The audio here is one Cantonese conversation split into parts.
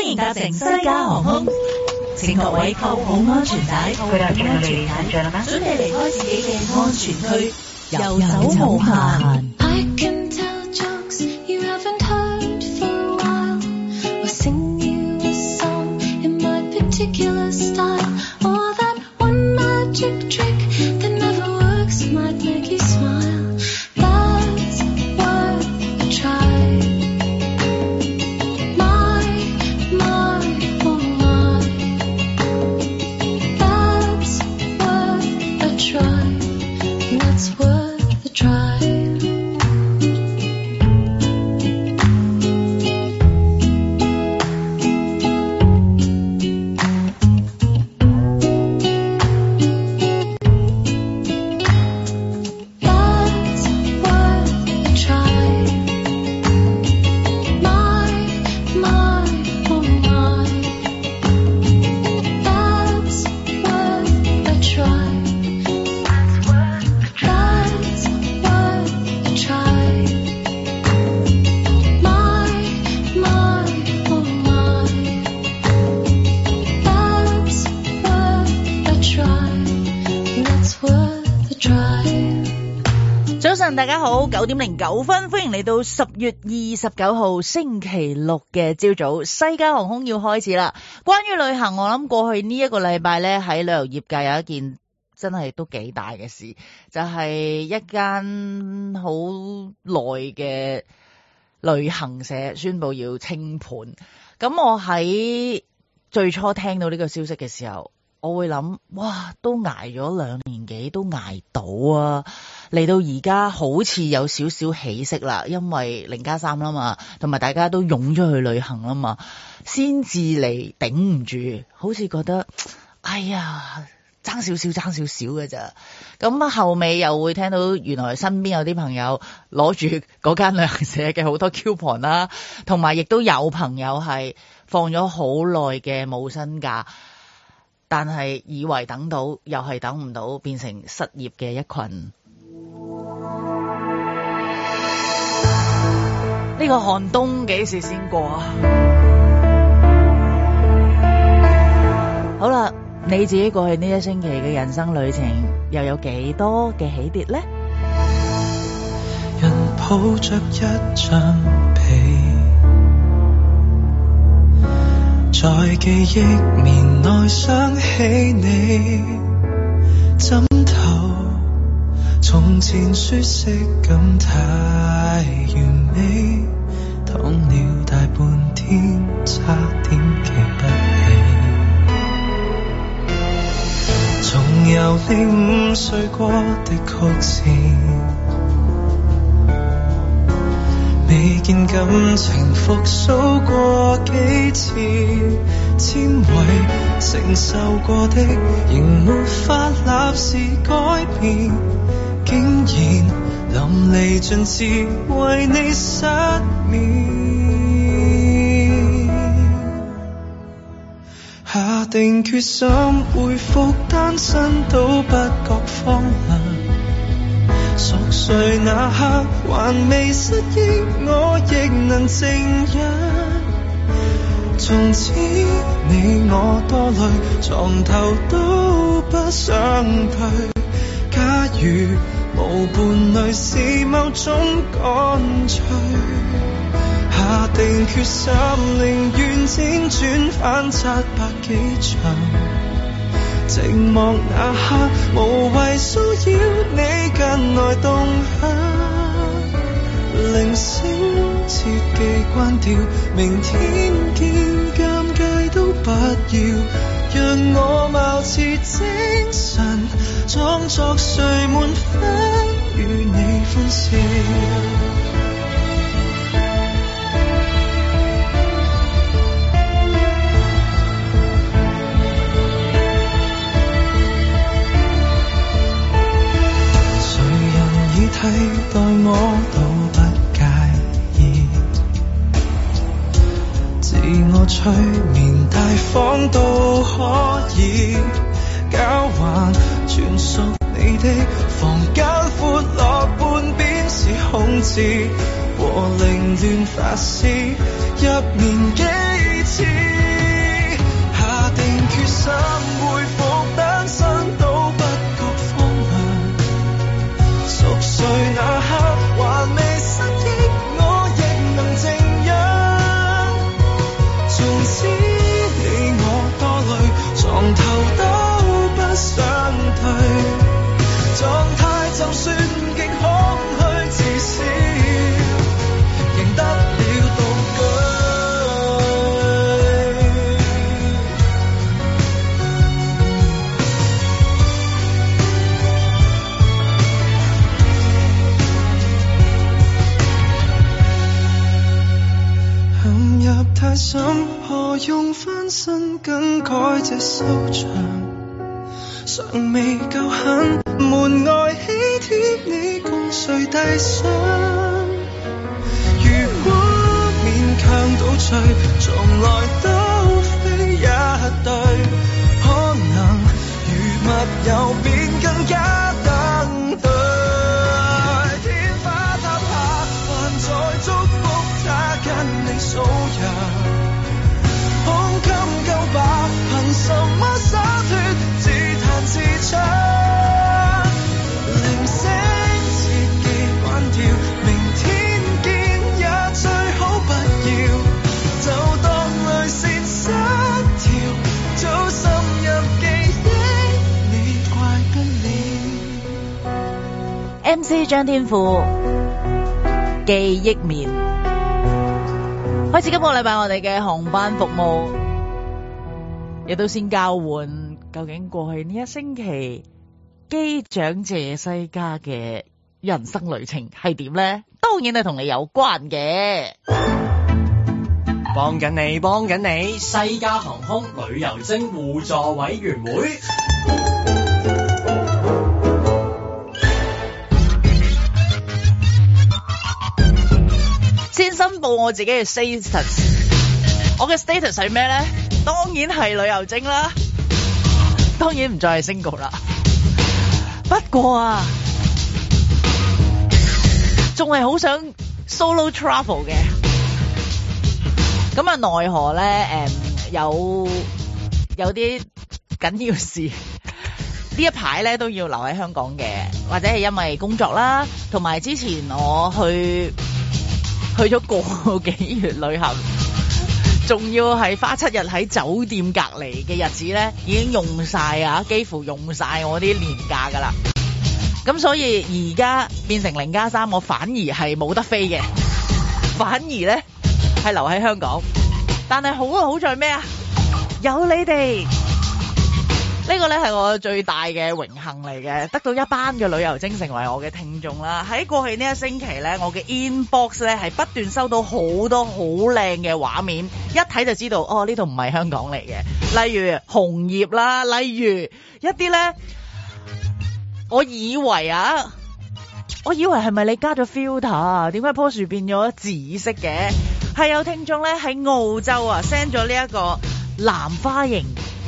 迎搭乘西加航空，請各位扣好安全帶，準備離開自己嘅安全區，遊走無限。 大家好，9:09，歡迎嚟到10月29號星期六嘅朝早，西加航空要開始啦。關於旅行，我諗過去呢一個禮拜咧，喺旅遊業界有一件真係都幾大嘅事，就係一間好耐嘅旅行社宣布要清盤。咁我喺最初聽到呢個消息嘅時候，我會諗，哇，都捱咗2年幾都捱到啊！嚟到而家好似有少少起色啦，因為0+3啦嘛，同埋大家都湧咗去旅行啦嘛，先至嚟頂唔住，好似覺得哎呀爭少少嘅咋。咁後尾又會聽到原來身邊有啲朋友攞住嗰間旅行社嘅好多 coupon 啦，同埋亦都有朋友係放咗好耐嘅冇薪假，但係以為等到又係等唔到，變成失業嘅一群。呢個寒冬幾時先過啊？好啦，你自己過去呢一星期嘅人生旅程又有幾多嘅起跌呢？ 人抱着一張被，在記憶棉內想起你，枕頭從前舒適感太完美，躺了大半天差點記不起，重遊你5歲過的曲線，未見感情復甦過幾次，纖維承受過的仍沒法立時改變，竟然淋漓盡致為你失眠，下定決心恢復單身都不覺荒涼，熟睡那刻還未失憶，我亦能靜養。從此你我多累，床頭都不想退，假如無伴侶是某種乾脆，下定決心寧願輾轉反側百幾場，寂寞那刻無謂騷擾你近來動向，鈴聲切記關掉，明天見，尷尬都不要，讓我貌似精神，裝作睡滿分與你歡笑。誰人已替代我都不介意，自我催眠大方都可以，交換全屬你的房間，闊落半邊是空置，和凌亂發洩入眠幾次。 使你我多累，床頭都不想退。狀態就算極空虛，至少贏得了獨居。陷入太深，何用翻身更改這收場？尚未夠狠，門外喜帖你共誰遞上？如果勉強倒退，從來都非一對，可能如密友便更加登對。天花塌下，還在祝福他跟你數日，胸襟夠吧？憑什麼灑脫？自彈自唱，鈴聲切記關掉，明天見也最好不要，就當淚腺失調，早滲入記憶，你怪不了。 MC 張天賦記憶棉，開始今個禮拜我哋嘅航班服務，亦都先交換。究竟過去呢一星期機長謝西嘉嘅人生旅程係點呢？當然係同你有關嘅。 幫緊你，西加航空旅遊精互助委員會。 先申報我自己嘅 status， 我嘅 status 係咩呢？當然係旅遊精啦。當然唔再係 single 啦，不過啊，仲係好想 solo travel 嘅。咁啊，奈何咧有啲緊要事，呢一排咧都要留喺香港嘅，或者係因為工作啦，同埋之前我去咗個幾月旅行。仲要係花7日喺酒店隔離嘅日子咧，已經用晒啊，幾乎用晒我啲年假噶啦。咁所以而家變成0+3，我反而係冇得飛嘅，反而咧係留喺香港。但係好在咩啊？有你哋，呢個咧係我最大嘅榮幸嚟嘅，得到一班嘅旅遊精成為我嘅聽眾啦。喺過去呢一星期咧，我嘅 inbox 咧係不斷收到好多好靚嘅畫面，一睇就知道哦，呢度唔係香港嚟嘅。例如紅葉啦，例如一啲咧，我以為係咪你加咗 filter 啊？點解棵樹變咗紫色嘅？係有聽眾咧喺澳洲啊 send 咗呢一個藍花楹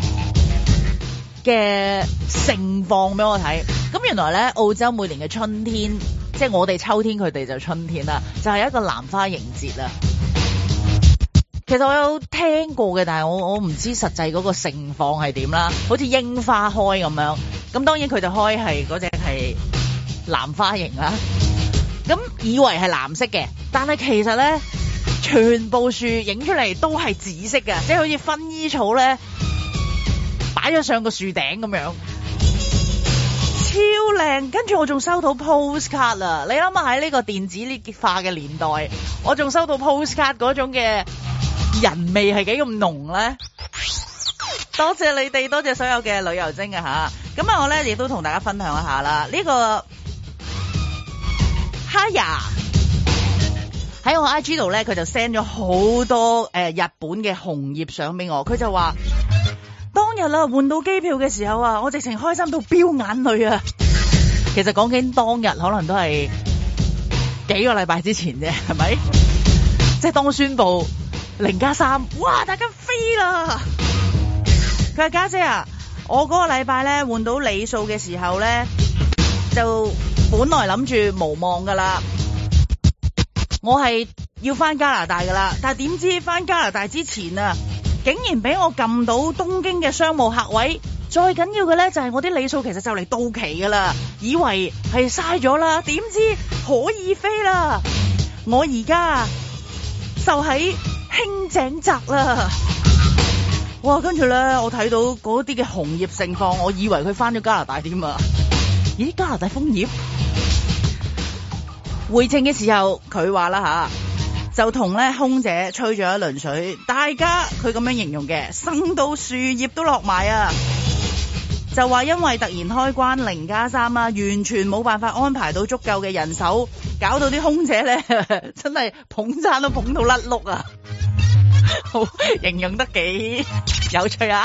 嘅盛況俾我睇。咁原來咧澳洲每年嘅春天，即係我哋秋天，佢哋就春天啦，就係一個藍花楹節啦。其實我有聽過嘅，但係我唔知實際嗰個盛況係點啦。好似櫻花開咁樣，咁當然佢哋開係嗰隻係藍花楹啦。咁以為係藍色嘅，但係其實咧全部樹影出嚟都係紫色嘅，即係好似薰衣草咧擺咗上個樹頂咁樣，超靚。跟住我仲收到 postcard 啦，你諗下喺呢個電子化嘅年代，我仲收到 postcard 嗰種嘅人味係幾咁濃咧？多謝你哋，多謝所有嘅旅遊精啊吓！咁啊，我咧亦都同大家分享一下啦。呢個哈呀喺我 IG 度咧，佢就 send 咗好多日本嘅紅葉相俾我。佢就話當日啦換到機票嘅時候啊，我直情開心到飆眼淚啊！其實講緊當日可能都係幾個禮拜之前啫，係咪？即係當宣布0+3，哇！大家飛啦！佢話家姐啊，我嗰個禮拜咧換到里數嘅時候咧，就本來諗住無望噶啦，我係要翻加拿大噶啦，但係點知翻加拿大之前啊，竟然俾我撳到東京嘅商務客位。再緊要嘅咧就係我啲里數其實就嚟到期噶啦，以為係嘥咗啦，點知可以飛啦！我而家就喺輕井澤啦。 哇！跟住咧，我睇到嗰啲嘅紅葉盛放，我以為佢翻咗加拿大添啊！咦，加拿大楓葉？回程嘅時候，佢話啦吓，就同咧空姐吹咗一輪水，大家佢咁樣形容嘅，生到樹葉都落埋啊！就話因為突然開關0+3啊，完全冇辦法安排到足夠嘅人手，搞到啲空姐咧真係捧餐都捧到甩碌啊！好，形容得幾有趣啊！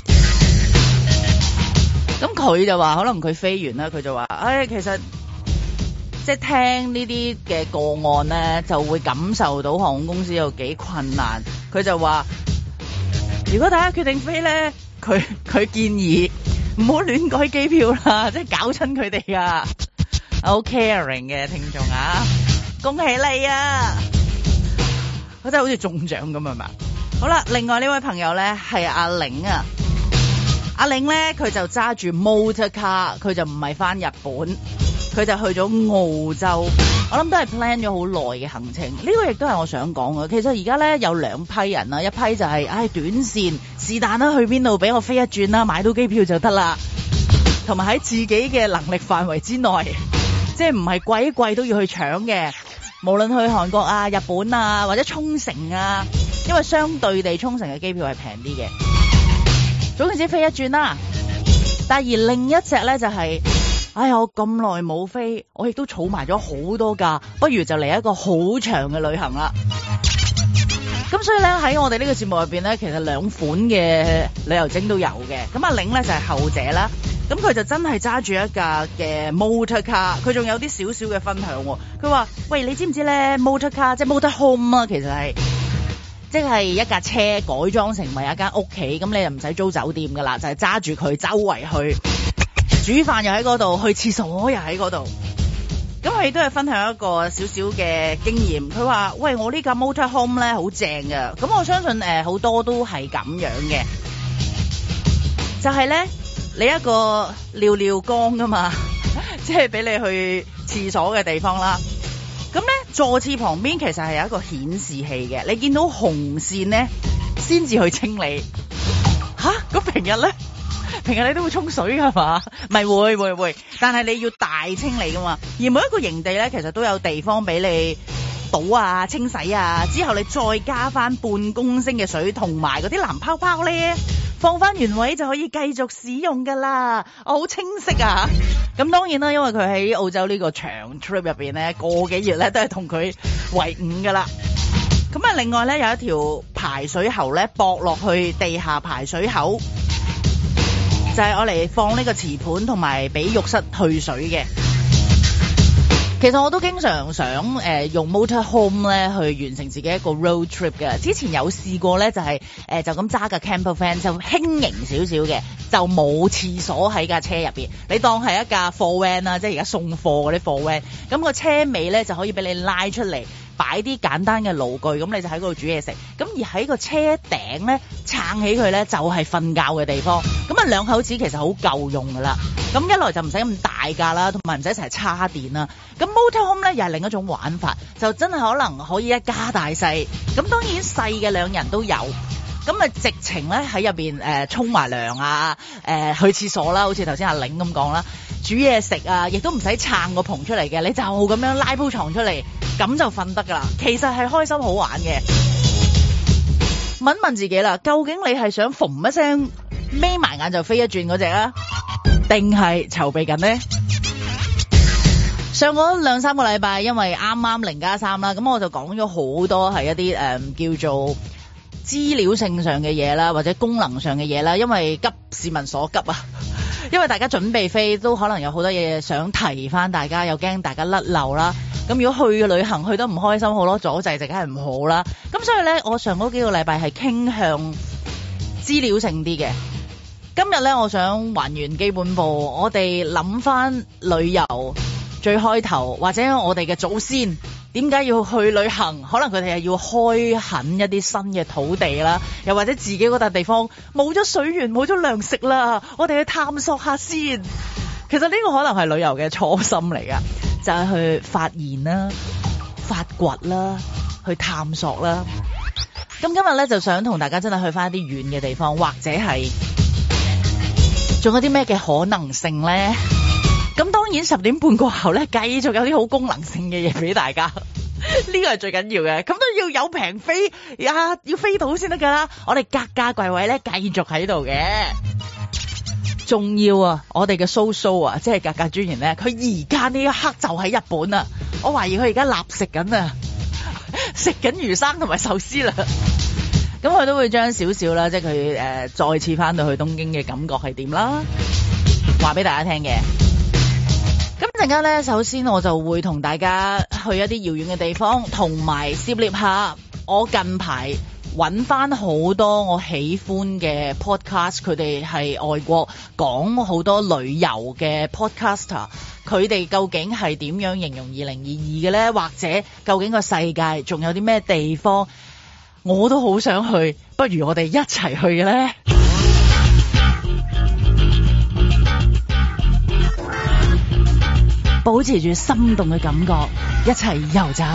咁佢就話可能佢飛完啦，佢就話，其實即係聽呢啲嘅個案咧，就會感受到航空公司有幾困難。佢就話，如果大家決定飛咧，佢建議唔好亂改機票啦，即係搞親佢哋啊！好 caring 嘅聽眾啊，恭喜你啊！佢真係好似中獎咁係嘛？好啦，另外呢位朋友咧係阿玲啊，阿玲咧佢就揸住 motor car， 佢就唔係翻日本，佢就去咗澳洲。我諗都係 plan 咗好耐嘅行程。呢個亦都係我想講嘅。其實而家咧有兩批人啊，一批就係短線是但啦，去邊度俾我飛一轉啦，買到機票就得啦，同埋喺自己嘅能力範圍之內，即係唔係貴都要去搶嘅。無論去韓國啊、日本啊或者沖繩啊，因為相對地沖繩嘅機票係平啲嘅。總之飛一轉啦。但而另一隻咧就係，我咁耐冇飛，我亦都儲埋咗好多假，不如就嚟一個好長嘅旅行啦。咁所以咧喺我哋呢個節目入邊咧，其實兩款嘅旅遊精都有嘅。咁阿玲咧就係後者啦。咁佢就真係揸住一架嘅 motor car， 佢仲有啲少少嘅分享喎。佢話：喂，你知唔知咧 motor car 即係 motor home 啊？其實係即係一架車改裝成為一間屋企，咁你就唔使租酒店噶啦，就係揸住佢周圍去煮飯又喺嗰度，去廁所又喺嗰度。咁佢亦都係分享一個少少嘅經驗。佢話：喂，我呢架 motor home 咧好正㗎。咁我相信好多都係咁樣嘅，就係咧。你一個尿缸噶嘛，即係俾你去廁所嘅地方啦。咁咧座廁旁邊其實係有一個顯示器嘅，你見到紅線咧先至去清理。咁平日咧，平日你都會沖水噶嘛？咪會，但係你要大清理噶嘛。而每一個營地咧，其實都有地方俾你倒啊、清洗啊，之後你再加翻半公升嘅水，同埋嗰啲藍泡泡咧。放翻原位就可以繼續使用噶啦，我好清晰啊！咁當然啦，因為佢喺澳洲呢個長 trip 入邊咧，個幾月咧都係同佢為伍噶啦。咁啊，另外咧有一條排水喉咧駁落去地下排水口，就係我嚟放呢個瓷盤同埋俾浴室去水嘅。其實我都經常想用 motor home 咧去完成自己一個 road trip 嘅。之前有試過咧，就係就咁揸架 camper van 就輕盈少少嘅，就冇廁所喺架車入邊。你當係一架貨 van 啦，即係而家送貨嗰啲貨 van。咁個車尾咧就可以俾你拉出嚟，擺啲簡單嘅爐具，咁你就喺嗰度煮嘢食。咁而喺個車頂咧撐起佢咧就係瞓覺嘅地方。咁啊兩口子其實好夠用噶啦。咁一來就唔使咁大架啦，同埋唔使成日叉電啦。咁 motor home 咧又係另一種玩法，就真係可能可以一家大細。咁當然細嘅兩人都有。咁啊直情咧喺入邊沖埋涼啊，去廁所啦，好似頭先阿玲咁講啦，煮嘢食啊，亦都唔使撐個棚出嚟嘅，你就咁樣拉鋪床出嚟，咁就瞓得噶啦。其實係開心好玩嘅。問問自己啦，究竟你係想縫一聲眯埋眼就飛一轉嗰隻啊，定係籌備緊呢？上嗰2-3個禮拜，因為啱啱0+3啦，咁我就講咗好多係一啲叫做資料性上嘅嘢啦，或者功能上嘅嘢啦，因為急市民所急啊，因為大家準備飛都可能有好多嘢想提翻大家，又驚大家甩漏啦。咁如果去嘅旅行去得唔開心，好多阻滯就梗係唔好啦。咁所以咧，我上嗰幾個禮拜係傾向資料性啲嘅。今日咧，我想還原基本步，我哋諗翻旅遊最開頭，或者我哋嘅祖先點解要去旅行？可能佢哋係要開墾一啲新嘅土地啦，又或者自己嗰笪地方冇咗水源、冇咗糧食啦，我哋去探索下先。其實呢個可能係旅遊嘅初心嚟噶，就係去發現啦、發掘啦、去探索啦。 咁今日咧就想同大家真係去翻一啲遠嘅地方，或者係仲有啲咩嘅可能性咧？咁當然10點半過後咧，繼續有啲好功能性嘅嘢俾大家，呢個係最緊要嘅。咁都要有平飛呀，要飛到先得噶啦。我哋格價櫃位咧繼續喺度嘅。仲要啊！我哋嘅蘇啊，即係格價專員咧，佢而家呢一刻就喺日本啊！我懷疑佢而家立食緊啊，食緊魚生同埋壽司啦。咁佢都會將少少啦，即係佢再次翻到去東京嘅感覺係點啦，話俾大家聽嘅。咁陣間咧，首先我就會同大家去一啲遙遠嘅地方，同埋涉獵下我近排揾翻好多我喜歡嘅 podcast， 佢哋係外國講好多旅遊嘅 podcaster， 佢哋究竟係點樣形容2022嘅呢？或者究竟個世界仲有啲咩地方我都好想去，不如我哋一齊去嘅呢？保持住心動嘅感覺，一齊遊走。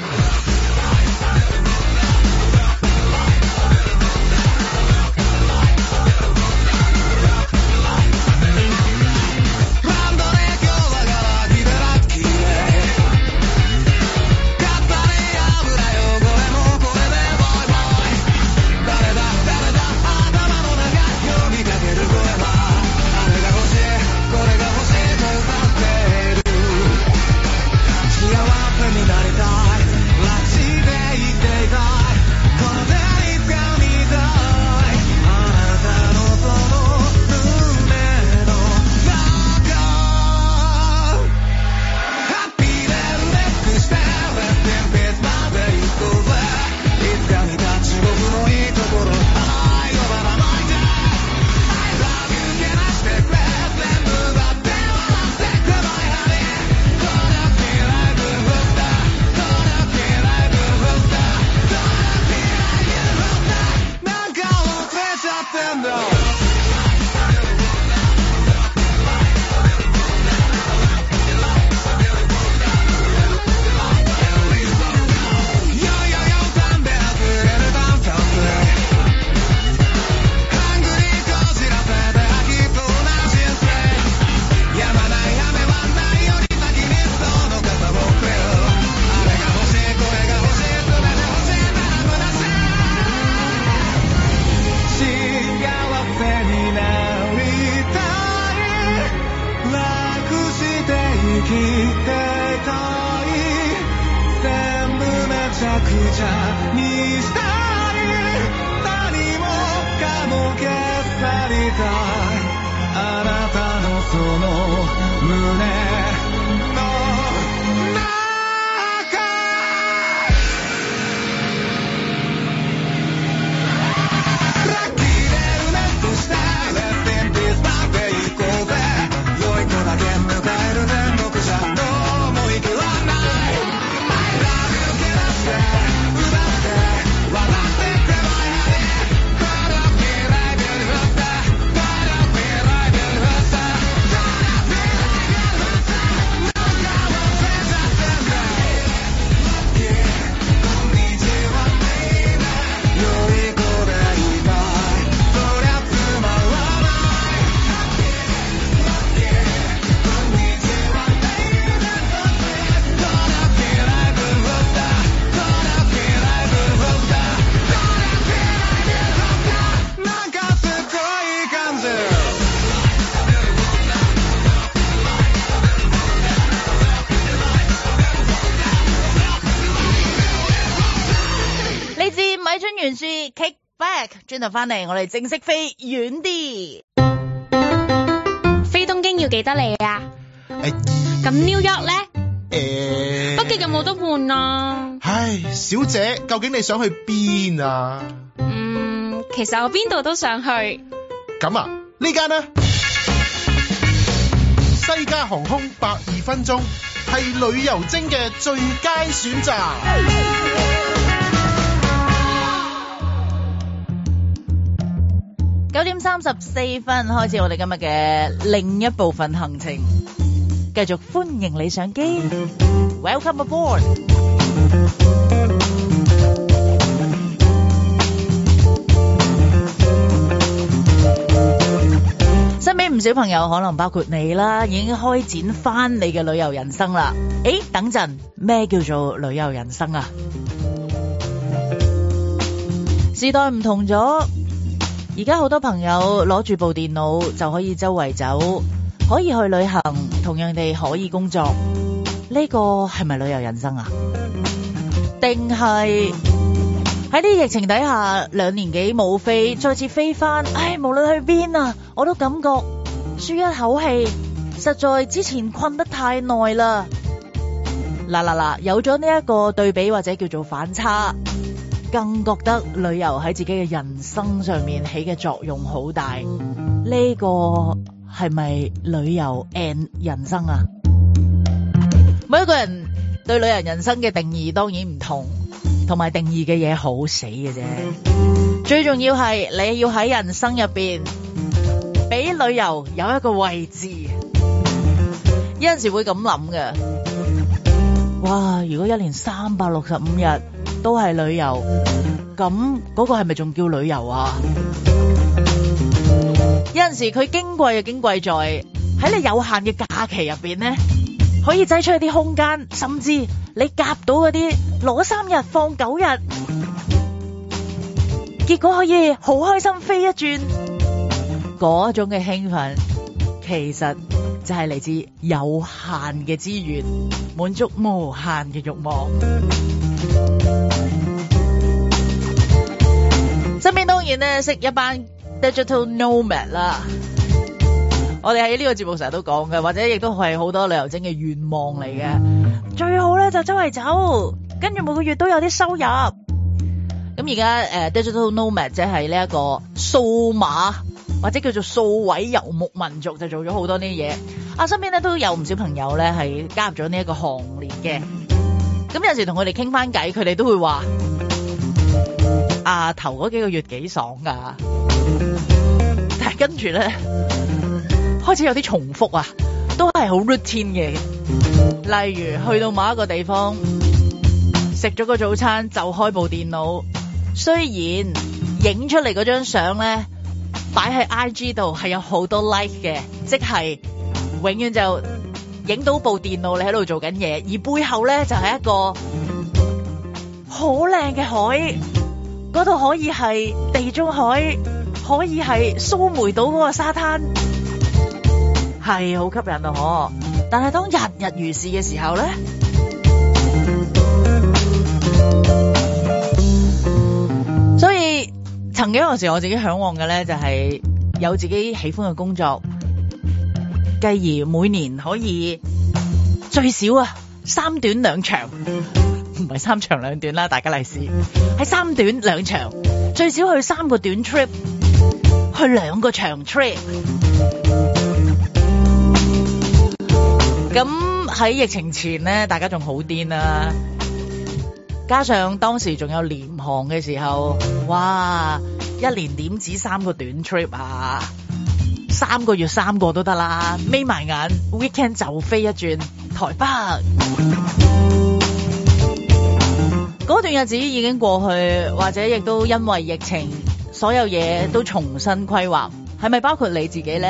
轉頭翻嚟，我哋正式飛遠啲。 飛東京要幾多里啊？咁 New York 咧？北極有冇得換啊？ 唉，小姐，究竟你想去邊啊？ 其實我邊度都想去。 咁啊，呢間呢？西加航空102分鐘係旅遊精嘅最佳選擇。 9點34分開始我哋今日嘅另一部分行程，繼續歡迎你上機 ，Welcome aboard。 唔少朋友可能包括你啦，已經開展翻你嘅旅遊人生啦。等陣，咩叫做旅遊人生啊？時代唔同咗，而家好多朋友攞住部電腦就可以周圍走，可以去旅行，同樣地可以工作。呢個係咪旅遊人生啊？定係喺啲疫情底下2年幾冇飛，再次飛翻？無論去邊啊，我都感覺舒一口氣，實在之前困得太耐啦。嗱，有咗呢一個對比或者叫做反差，更覺得旅遊喺自己嘅人生上面起嘅作用好大。呢個係咪旅遊 and 人生啊？每一個人對旅遊人生嘅定義當然唔同，同埋定義嘅嘢好死嘅啫。最重要係你要喺人生入邊俾旅遊有一個位置。有陣時會咁諗嘅，哇！如果1年365日都係旅遊，咁嗰個係咪仲叫旅遊啊？有陣時佢矜貴就矜貴在喺你有限嘅假期入邊呢，可以擠出一啲空間，甚至你夾到嗰啲攞3日放9日，結果可以好開心飛一轉，嗰種嘅興奮其實就係嚟自有限嘅資源滿足無限嘅慾望。身邊當然咧識一班 digital nomad 啦，我哋喺呢個節目成日都講嘅，或者亦都係好多旅遊精嘅願望嚟嘅。最好咧就周圍走，跟住每個月都有啲收入。咁而家digital nomad 即係呢一個數碼或者叫做數位遊牧民族，就做咗好多呢啲嘢。身邊咧都有唔少朋友咧係加入咗呢一個行列嘅。咁有時同佢哋傾翻偈，佢哋都會話：頭嗰幾個月幾爽噶，但係跟住咧開始有啲重複啊，都係好 routine 嘅。例如去到某一個地方食咗個早餐就開部電腦，雖然影出嚟嗰張相咧擺喺 IG 度係有好多 like 嘅，即係永遠就影到部電腦你喺度做緊嘢，而背後咧就係一個好靚嘅海，嗰度可以係地中海，可以係蘇梅島嗰個沙灘，係好吸引啊！但係當日日如是嘅時候咧，所以曾經有時我自己向往嘅咧就係有自己喜歡嘅工作，繼而每年可以最少3短2長，唔係3長2短啦，大家利是係3短2長，最少去3個短 trip， 去2個長 trip。咁喺疫情前咧，大家仲好癲啦，加上當時仲有廉航嘅時候，哇！1年點止3個短 trip 啊？3個月3個都得啦，眯埋眼 weekend 就飛一轉台北。嗰段日子已經過去，或者亦都因為疫情，所有嘢都重新規劃，係咪包括你自己呢？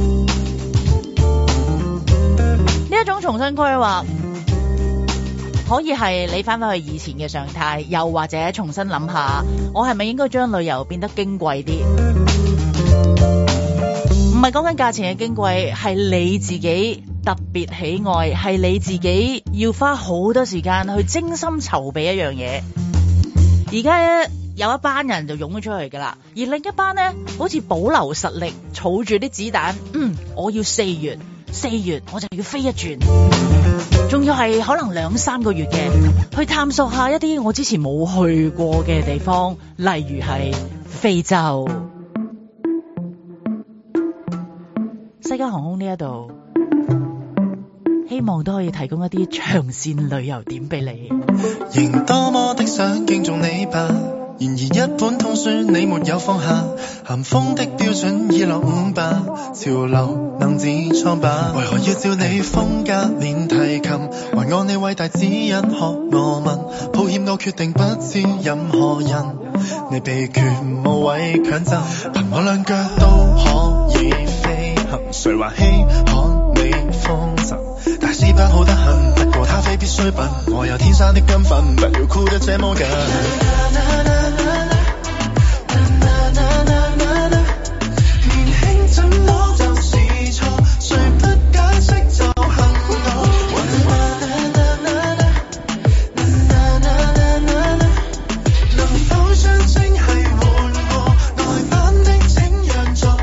呢一種重新規劃，可以係你翻返去以前嘅常態，又或者重新諗下，我係咪應該將旅遊變得矜貴啲？唔係講緊價錢嘅矜貴，係你自己特別喜愛，係你自己要花好多時間去精心籌備一樣嘢。而家有一班人就湧咗出去噶啦，而另一班呢，好似保留實力，儲住啲子彈。我要4月我就要飛一轉，仲要係可能2-3個月嘅，去探索下一啲我之前冇去過嘅地方，例如係非洲。西加航空呢一度，希望都可以提供一啲長線旅遊點俾你。 仍多麼的想敬重你吧，然而一本通書你沒有放下，咸豐的標準已落伍吧，潮流能自創吧，為何要照你風格練提琴，還按你偉大指引學我問，抱歉我決定不知任何人，你秘訣無謂強爭，憑我兩腳都可以飛， 行，誰還稀罕你風塵？大師班好得很，不過他非必需品，我有天生的根分，不要箍得這麼緊。年輕怎麼就是錯，誰不解釋就恨我。能否將正係換過內版的，請讓座。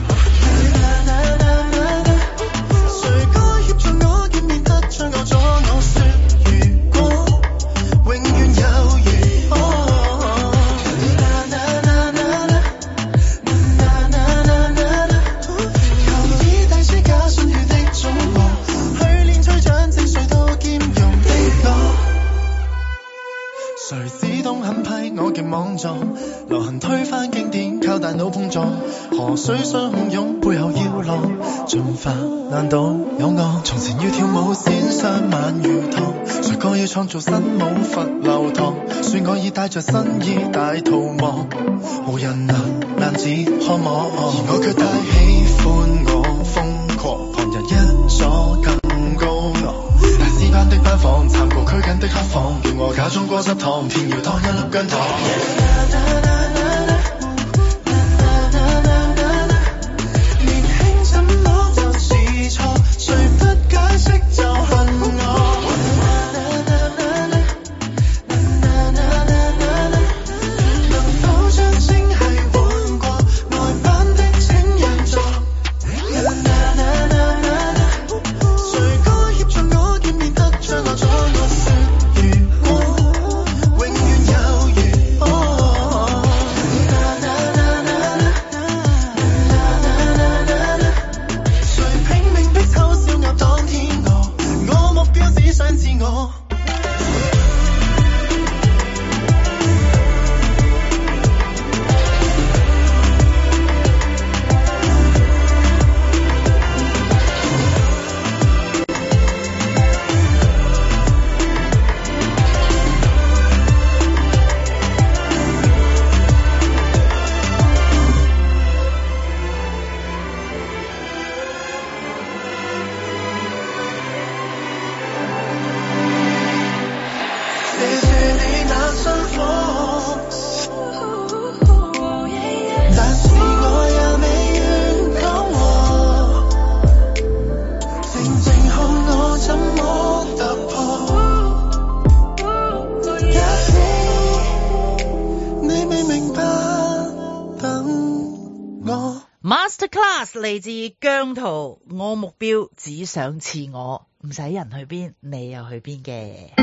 誰該協助我見面得將我阻？我說如果永遠有如求以大師假信譽的總和，去練吹掌正誰都兼容的我。誰只懂狠批我極莽撞，流行推翻經典靠大腦碰撞，河水相洶湧背後要浪，進化難道有我？從前要跳舞先生晚如堂，誰個要創造新舞佛流堂，算我已帶着新意大逃亡，無人能難自看我，而我卻太喜歡我瘋狂，旁人一左更高昂，大師班的班房參過拘謹的黑房，叫我假裝過濕糖，偏要當一粒薑糖。年輕怎麼就是錯，誰不解釋就恨我。能否將正係換過內版的，請讓座。誰該協助我見面得將我阻？我說如果永遠有如誰拼命逼醜小鴨當天鵝，我目標只想自我。謝謝你那辛苦，但是我也未願講和，靜靜看我怎麼突破。假使你未明白，等我。 Masterclass 嚟自姜濤，我目標只想似我，唔使人去邊，你又去邊嘅。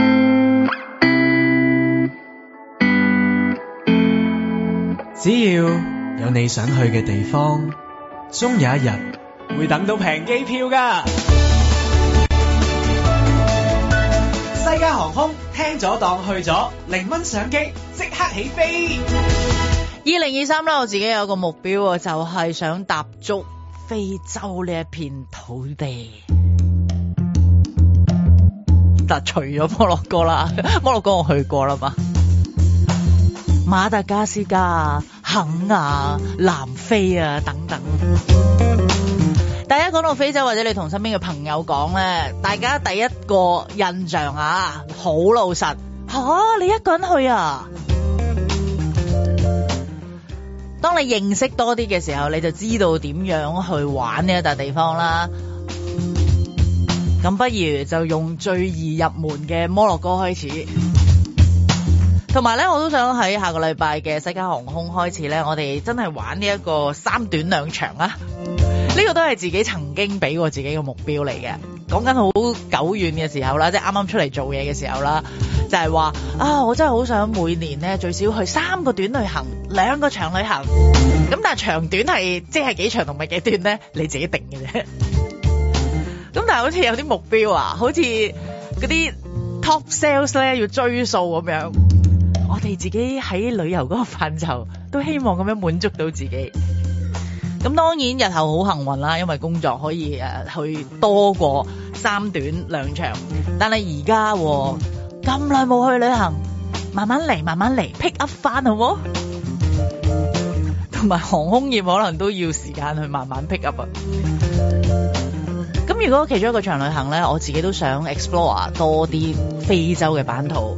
只要有你想去嘅地方，終有一日會等到平機票㗎。西加航空聽咗當去咗，0蚊上機即刻起飛。 2023啦，我自己有個目標啊，就係想踏足非洲呢一片土地。但除咗摩洛哥啦，摩洛哥我去過啦嘛。馬達加斯加、肯亞、南非啊等等。大家講到非洲，或者你同身邊嘅朋友講咧，大家第一個印象啊，好老實你一個人去啊？當你認識多啲嘅時候，你就知道點樣去玩呢一笪地方啦。咁不如就用最易入門嘅摩洛哥開始。同埋咧，我都想喺下個禮拜嘅西加航空開始咧，我哋真係玩呢一個3短2長啊！呢個都係自己曾經俾過自己嘅目標嚟嘅。講緊好久遠嘅時候啦，即係啱啱出嚟做嘢嘅時候啦，就係話我真係好想每年咧最少去3個短旅行，2個長旅行。咁但係長短係即係幾長同埋幾短咧，你自己定嘅啫。咁但係好似有啲目標啊，好似嗰啲 top sales 咧要追數咁樣。我哋自己喺旅遊嗰個範疇都希望咁樣滿足到自己。咁當然日後好幸運啦，因為工作可以去多過3短2長。但係而家咁耐冇去旅行，慢慢嚟 pick up 翻好冇？同埋航空業可能都要時間去慢慢 pick up 啊。 咁如果其中一個長旅行咧，我自己都想 explore 多啲非洲嘅版圖。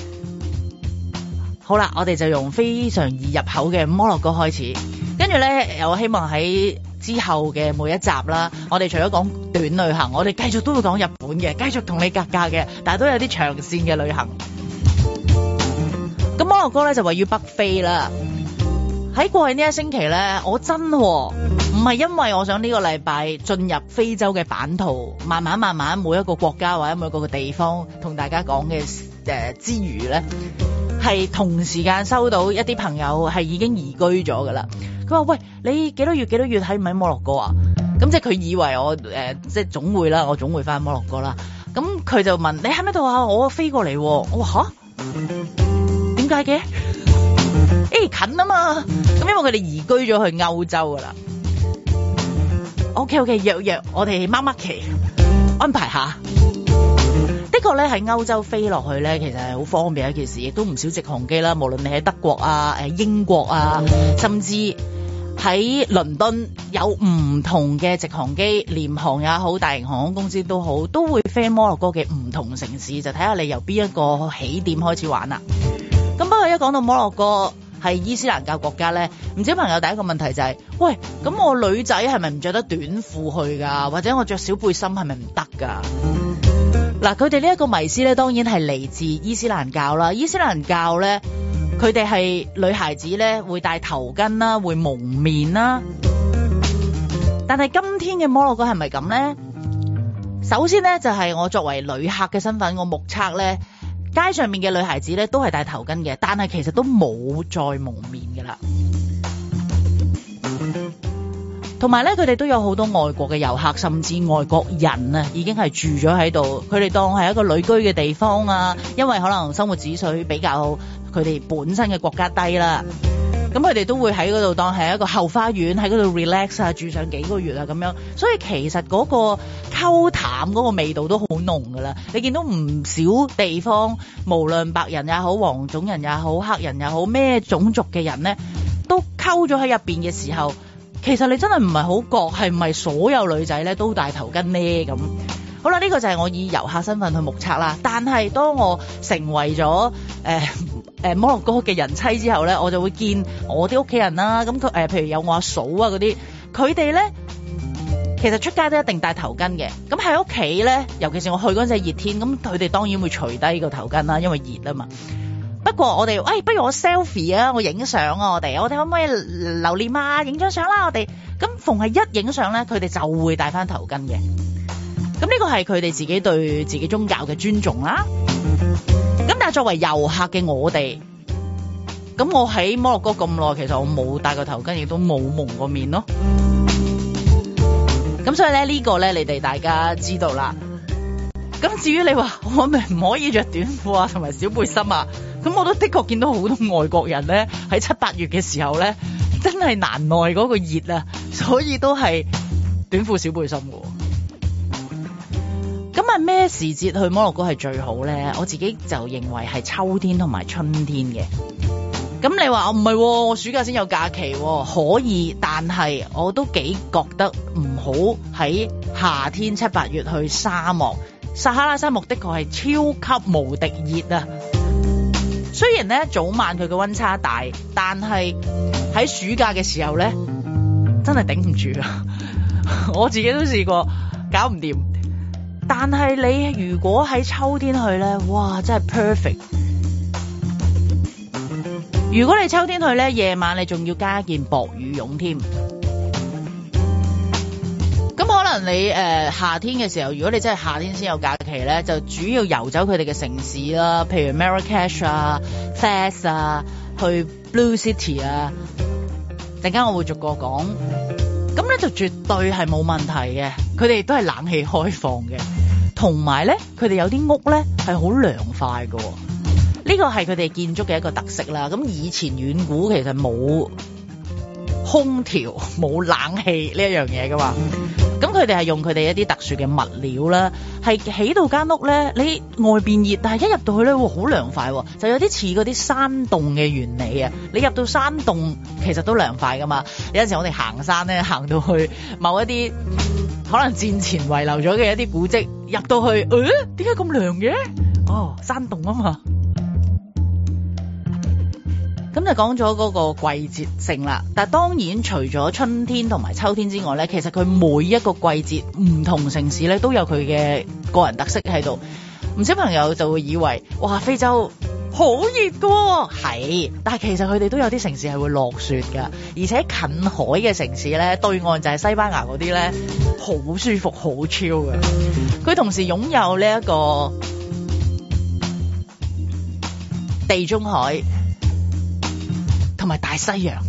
好啦，我哋就用非常易入口嘅摩洛哥開始，跟住咧，我希望喺之後嘅每一集啦，我哋除咗講短旅行，我哋繼續都會講日本嘅，繼續同你格價嘅，但係都有啲長線嘅旅行。咁摩洛哥咧就位於北非啦。喺過去呢一星期咧，我真唔係因為我想呢個禮拜進入非洲嘅版圖，慢慢每一個國家或者每一個地方同大家講嘅之餘咧，係同時間收到一啲朋友係已經移居咗噶啦。佢話：喂，你幾多月喺唔喺摩洛哥啊？咁即係佢以為我即係總會啦，我總會翻摩洛哥啦。咁佢就問：你喺咩度啊？我飛過嚟。我話吓？點解嘅？近啊嘛。咁因為佢哋移居咗去歐洲噶啦。OK， 約我哋孖期安排下。的確咧喺歐洲飛落去咧，其實係好方便一件事，亦都唔少直航機啦。無論你喺德國啊、英國啊，甚至喺倫敦有唔同嘅直航機，廉航也好，大型航空公司都好，都會飛摩洛哥嘅唔同城市，就睇下你由邊一個起點開始玩啦。咁不過一講到摩洛哥係伊斯蘭教國家咧，唔少朋友第一個問題就係：喂，咁我女仔係咪唔着得短褲去㗎？或者我着小背心係咪唔得㗎？嗱，佢哋呢一個迷思咧，當然係嚟自伊斯蘭教啦。伊斯蘭教咧，佢哋係女孩子咧會戴頭巾啦，會蒙面啦。但係今天嘅摩洛哥係咪咁咧？首先咧就係我作為旅客嘅身份，我目測咧街上面嘅女孩子咧都係戴頭巾嘅，但係其實都冇再蒙面㗎啦。同埋咧，佢哋都有好多外國嘅遊客，甚至外國人啊，已經係住咗喺度。佢哋當係一個旅居嘅地方啊，因為可能生活指數比較佢哋本身嘅國家低啦。咁佢哋都會喺嗰度當係一個後花園，喺嗰度 relax 啊，住上幾個月啊咁樣。所以其實嗰個溝淡嗰個味道都好濃㗎啦。你見到唔少地方，無論白人也好、黃種人也好、黑人也好，咩種族嘅人呢，都溝咗喺入邊嘅時候。其實你真係唔係好覺係唔係所有女仔咧都戴頭巾呢？咁好啦，呢個就係我以遊客身份去目測啦。但係當我成為咗摩洛哥嘅人妻之後咧，我就會見我啲屋企人啦。咁佢譬如有我阿嫂啊嗰啲，佢哋咧其實出街都一定戴頭巾嘅。咁喺屋企咧，尤其是我去嗰陣係熱天，咁佢哋當然會除低個頭巾啦，因為熱啊嘛。不過我哋，不如我 selfie 啊，我影相啊，我哋可唔可以留念啊？影張相啦，我哋咁逢係一影相咧，佢哋就會戴翻頭巾嘅。咁呢個係佢哋自己對自己宗教嘅尊重啦。咁但係作為遊客嘅我哋，咁我喺摩洛哥咁耐，其實我冇戴過頭巾，亦都冇蒙過面咯。咁所以咧呢個咧，你哋大家知道啦。咁至於你話我咪唔可以着短褲啊，同埋小背心啊？咁我都的確見到好多外國人咧，喺7-8月嘅時候咧，真係難耐嗰個熱啊，所以都係短褲小背心嘅。咁啊咩時節去摩洛哥係最好咧？我自己就認為係秋天同埋春天嘅。咁你話唔係，我暑假先有假期，可以，但係我都幾覺得唔好喺夏天7-8月去沙漠。撒哈拉沙漠的確係超級無敵熱啊！雖然咧早晚佢嘅溫差大，但係喺暑假嘅時候咧，真係頂唔住啊！我自己都試過搞唔掂。但係你如果喺秋天去咧，哇，真係 perfect。如果你秋天去咧，夜晚你仲要加一件薄羽絨添。咁可能你夏天嘅時候，如果你真係夏天先有假期咧，就主要遊走佢哋嘅城市啦，譬如 Marrakesh 啊、Fez 啊，去 Blue City 啊。陣間我會逐個講。咁咧就絕對係冇問題嘅，佢哋都係冷氣開放嘅，同埋咧佢哋有啲屋咧係好涼快嘅。呢個係佢哋建築嘅一個特色啦。咁以前遠古其實冇空調冇冷氣呢一樣嘢噶嘛，咁佢哋係用佢哋一啲特殊嘅物料啦，係起到間屋咧，你外邊熱，但係一入到去咧，好涼快，就有啲似嗰啲山洞嘅原理啊！你入到山洞其實都涼快噶嘛，有陣時我哋行山咧，行到去某一啲可能戰前遺留咗嘅一啲古蹟，入到去，點解咁涼嘅？哦，山洞啊嘛。咁就講咗嗰個季節性啦，但係當然除咗春天同埋秋天之外咧，其實佢每一個季節唔同城市咧都有佢嘅個人特色喺度。唔少朋友就會以為，哇，非洲好熱㗎喎，係，但係其實佢哋都有啲城市係會落雪㗎，而且近海嘅城市咧，對岸就係西班牙嗰啲咧，好舒服，好 chill 嘅。佢同時擁有呢一個地中海同埋大西洋。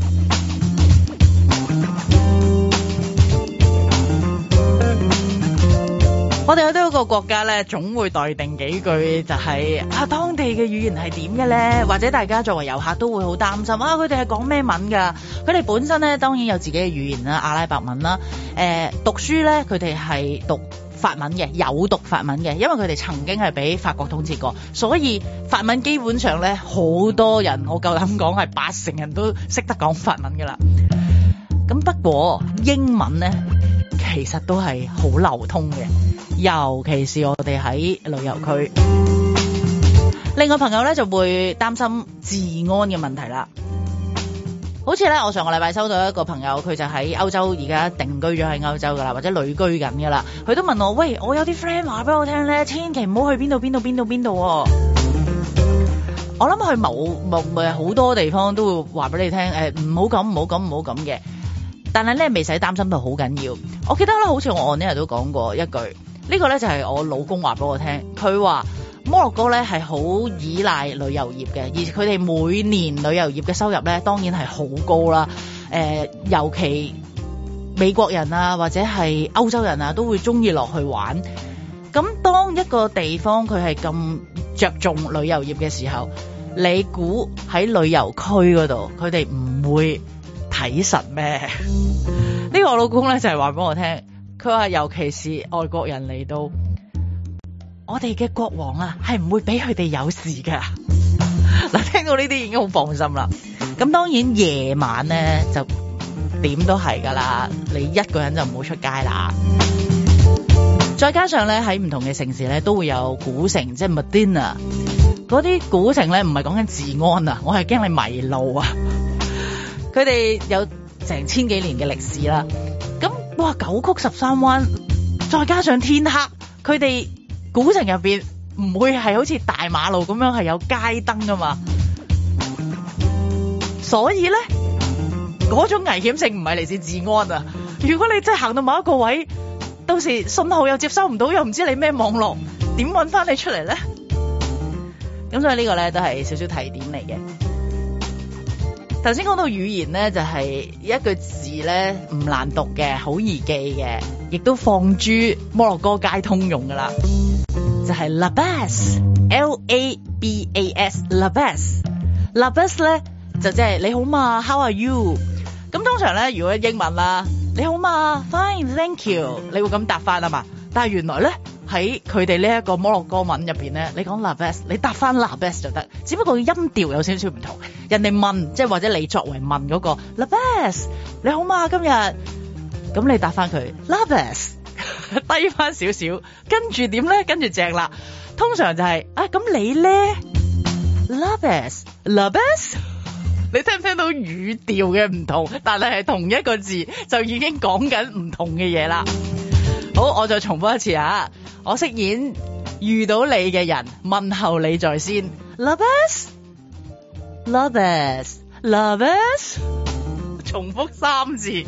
我哋去到一個國家咧，總會待定幾句，就係當地嘅語言係點嘅咧？或者大家作為遊客都會好擔心佢哋係講咩文㗎？佢哋本身咧當然有自己嘅語言啦，阿拉伯文啦。讀書咧佢哋係讀法文嘅，有讀法文嘅，因為佢哋曾經係俾法國統治過，所以法文基本上咧好多人，我夠膽講係80%人都識得講法文㗎啦。咁不過英文咧其實都係好流通嘅。尤其是我哋喺旅遊區，另外朋友咧就會擔心治安嘅問題啦。好似咧，我上個禮拜收到一個朋友，佢就喺歐洲而家定居咗喺歐洲噶啦，或者旅居緊噶啦。佢都問我，喂，我有啲 friend 話俾我聽咧，千祈唔好去邊度。我諗去好多地方都會話俾你聽，唔好咁嘅。但係咧未使擔心到好緊要。我記得咧，好似我呢日都講過一句。呢個咧就係我老公話俾我聽，佢話摩洛哥咧係好依賴旅遊業嘅，而佢哋每年旅遊業嘅收入咧當然係好高啦。尤其美國人啊或者係歐洲人啊都會中意落去玩。咁當一個地方佢係咁着重旅遊業嘅時候，你估喺旅遊區嗰度佢哋唔會睇實咩？呢個我老公咧就係話俾我聽。佢話尤其是外國人嚟到，我哋嘅國王啊係唔會俾佢哋有事㗎。嗱，聽到呢啲已經好放心啦。咁當然夜晚咧就點都係㗎啦，你一個人就唔好出街啦。再加上咧喺唔同嘅城市咧都會有古城，即係 Medina 嗰啲古城咧，唔係講緊治安啊，我係驚你迷路啊。佢哋有成千幾年嘅歷史啦。咁哇，九曲13彎，再加上天黑，佢哋古城入邊唔會係好似大馬路咁樣係有街燈噶嘛，所以咧嗰種危險性唔係嚟自治安啊。如果你真係行到某一個位，到時信號又接收唔到，又唔知你咩網絡，點搵翻你出嚟咧？咁所以呢個咧都係少少提點嚟嘅。頭先講到語言咧，就係一句字咧唔難讀嘅，好易記嘅，亦都放諸摩洛哥街通用噶啦，就係 Labas Labas 咧就即係你好嘛 ，How are you？ 咁通常咧如果英文啦，你好嘛 ，Fine thank you， 你會咁答翻啊嘛。但係原來咧喺佢哋呢一個摩洛哥文入邊咧，你講 Labas， 你答翻 Labas 就得，只不過音調有少少唔同。人哋問，即係或者你作為問嗰個 Labas， 你好嘛今日，咁你答翻佢 Labas， 低翻少少，跟住點咧？跟住正啦，通常就係咁你咧 Labas， 你聽唔聽到語調嘅唔同？但係同一個字就已經講緊唔同嘅嘢啦。好，我再重複一次啊！我飾演遇到你嘅人，問候你在先 Labas， 重複3次。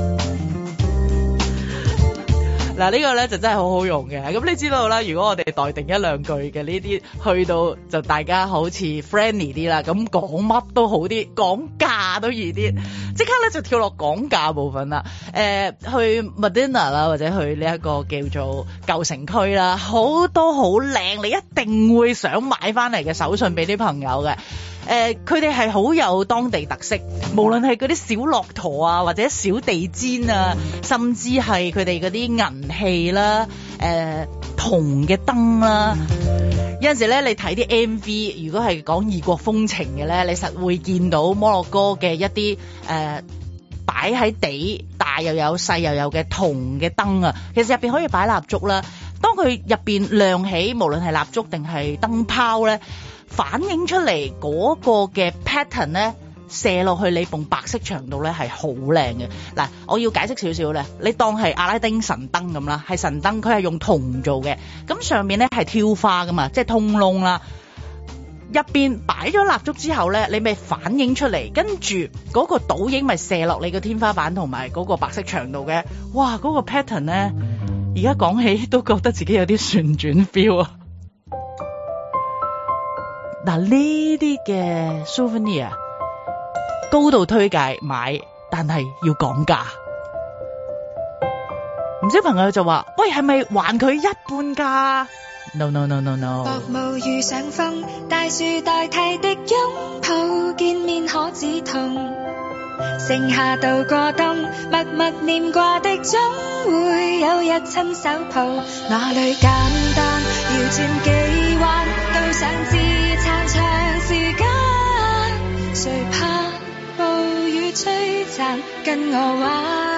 嗱，呢個咧就真係好好用嘅。咁你知道啦，如果我哋待定1、2句嘅呢啲，去到就大家好似 friendly 啲啦，咁講乜都好啲，講價都易啲。即刻咧就跳落講價部分啦。去 Medina 啦，或者去呢一個叫做舊城區啦，好多好靚，你一定會想買翻嚟嘅手信俾啲朋友嘅。佢哋係好有當地特色，無論係嗰啲小駱駝啊，或者小地氈啊，甚至係佢哋嗰啲銀器啦、銅嘅燈啦。有陣時咧，你睇啲 MV， 如果係講異國風情嘅咧，你實會見到摩洛哥嘅一啲擺喺地大大又有細又有嘅銅嘅燈啊，其實入邊可以擺蠟燭啦。當佢入邊亮起，無論係蠟燭定係燈泡咧，反映出嚟嗰個嘅 pattern 咧，射落去你埲白色牆度咧係好靚嘅。嗱，我要解釋少少咧，你當係阿拉丁神燈咁啦，係神燈，佢係用銅做嘅，咁上面咧係挑花噶嘛，即係通窿啦。入邊擺咗蠟燭之後咧，你咪反映出嚟，跟住嗰個倒影咪射落你個天花板同埋嗰個白色牆度嘅。哇，嗰個 pattern 咧，而家講起都覺得自己有啲旋轉 feel 啊！嗱，呢啲嘅 souvenir 高度推介買，但係要講價。唔少朋友就話：喂，係咪還佢一半價？No no no no no。 薄霧遇上風，大樹代替的擁抱，見面可止痛。盛夏度過冬，默默念掛的總會有日親手抱。哪裏簡單，要轉幾彎，都想支撐長時間。誰怕暴雨摧殘，跟我玩。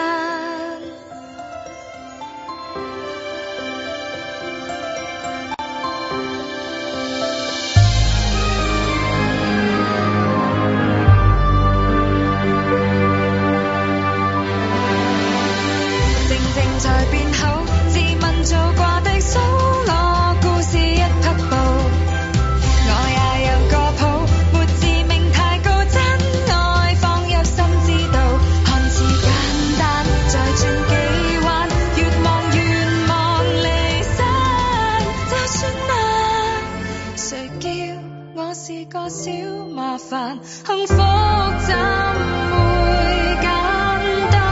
在變好，自問做過的數我故事一匹布，我也有個譜，沒自命太高，真愛放入心知道，看似簡單，再轉幾彎，越望離散，就算難，誰叫我是個小麻煩，幸福怎會簡單？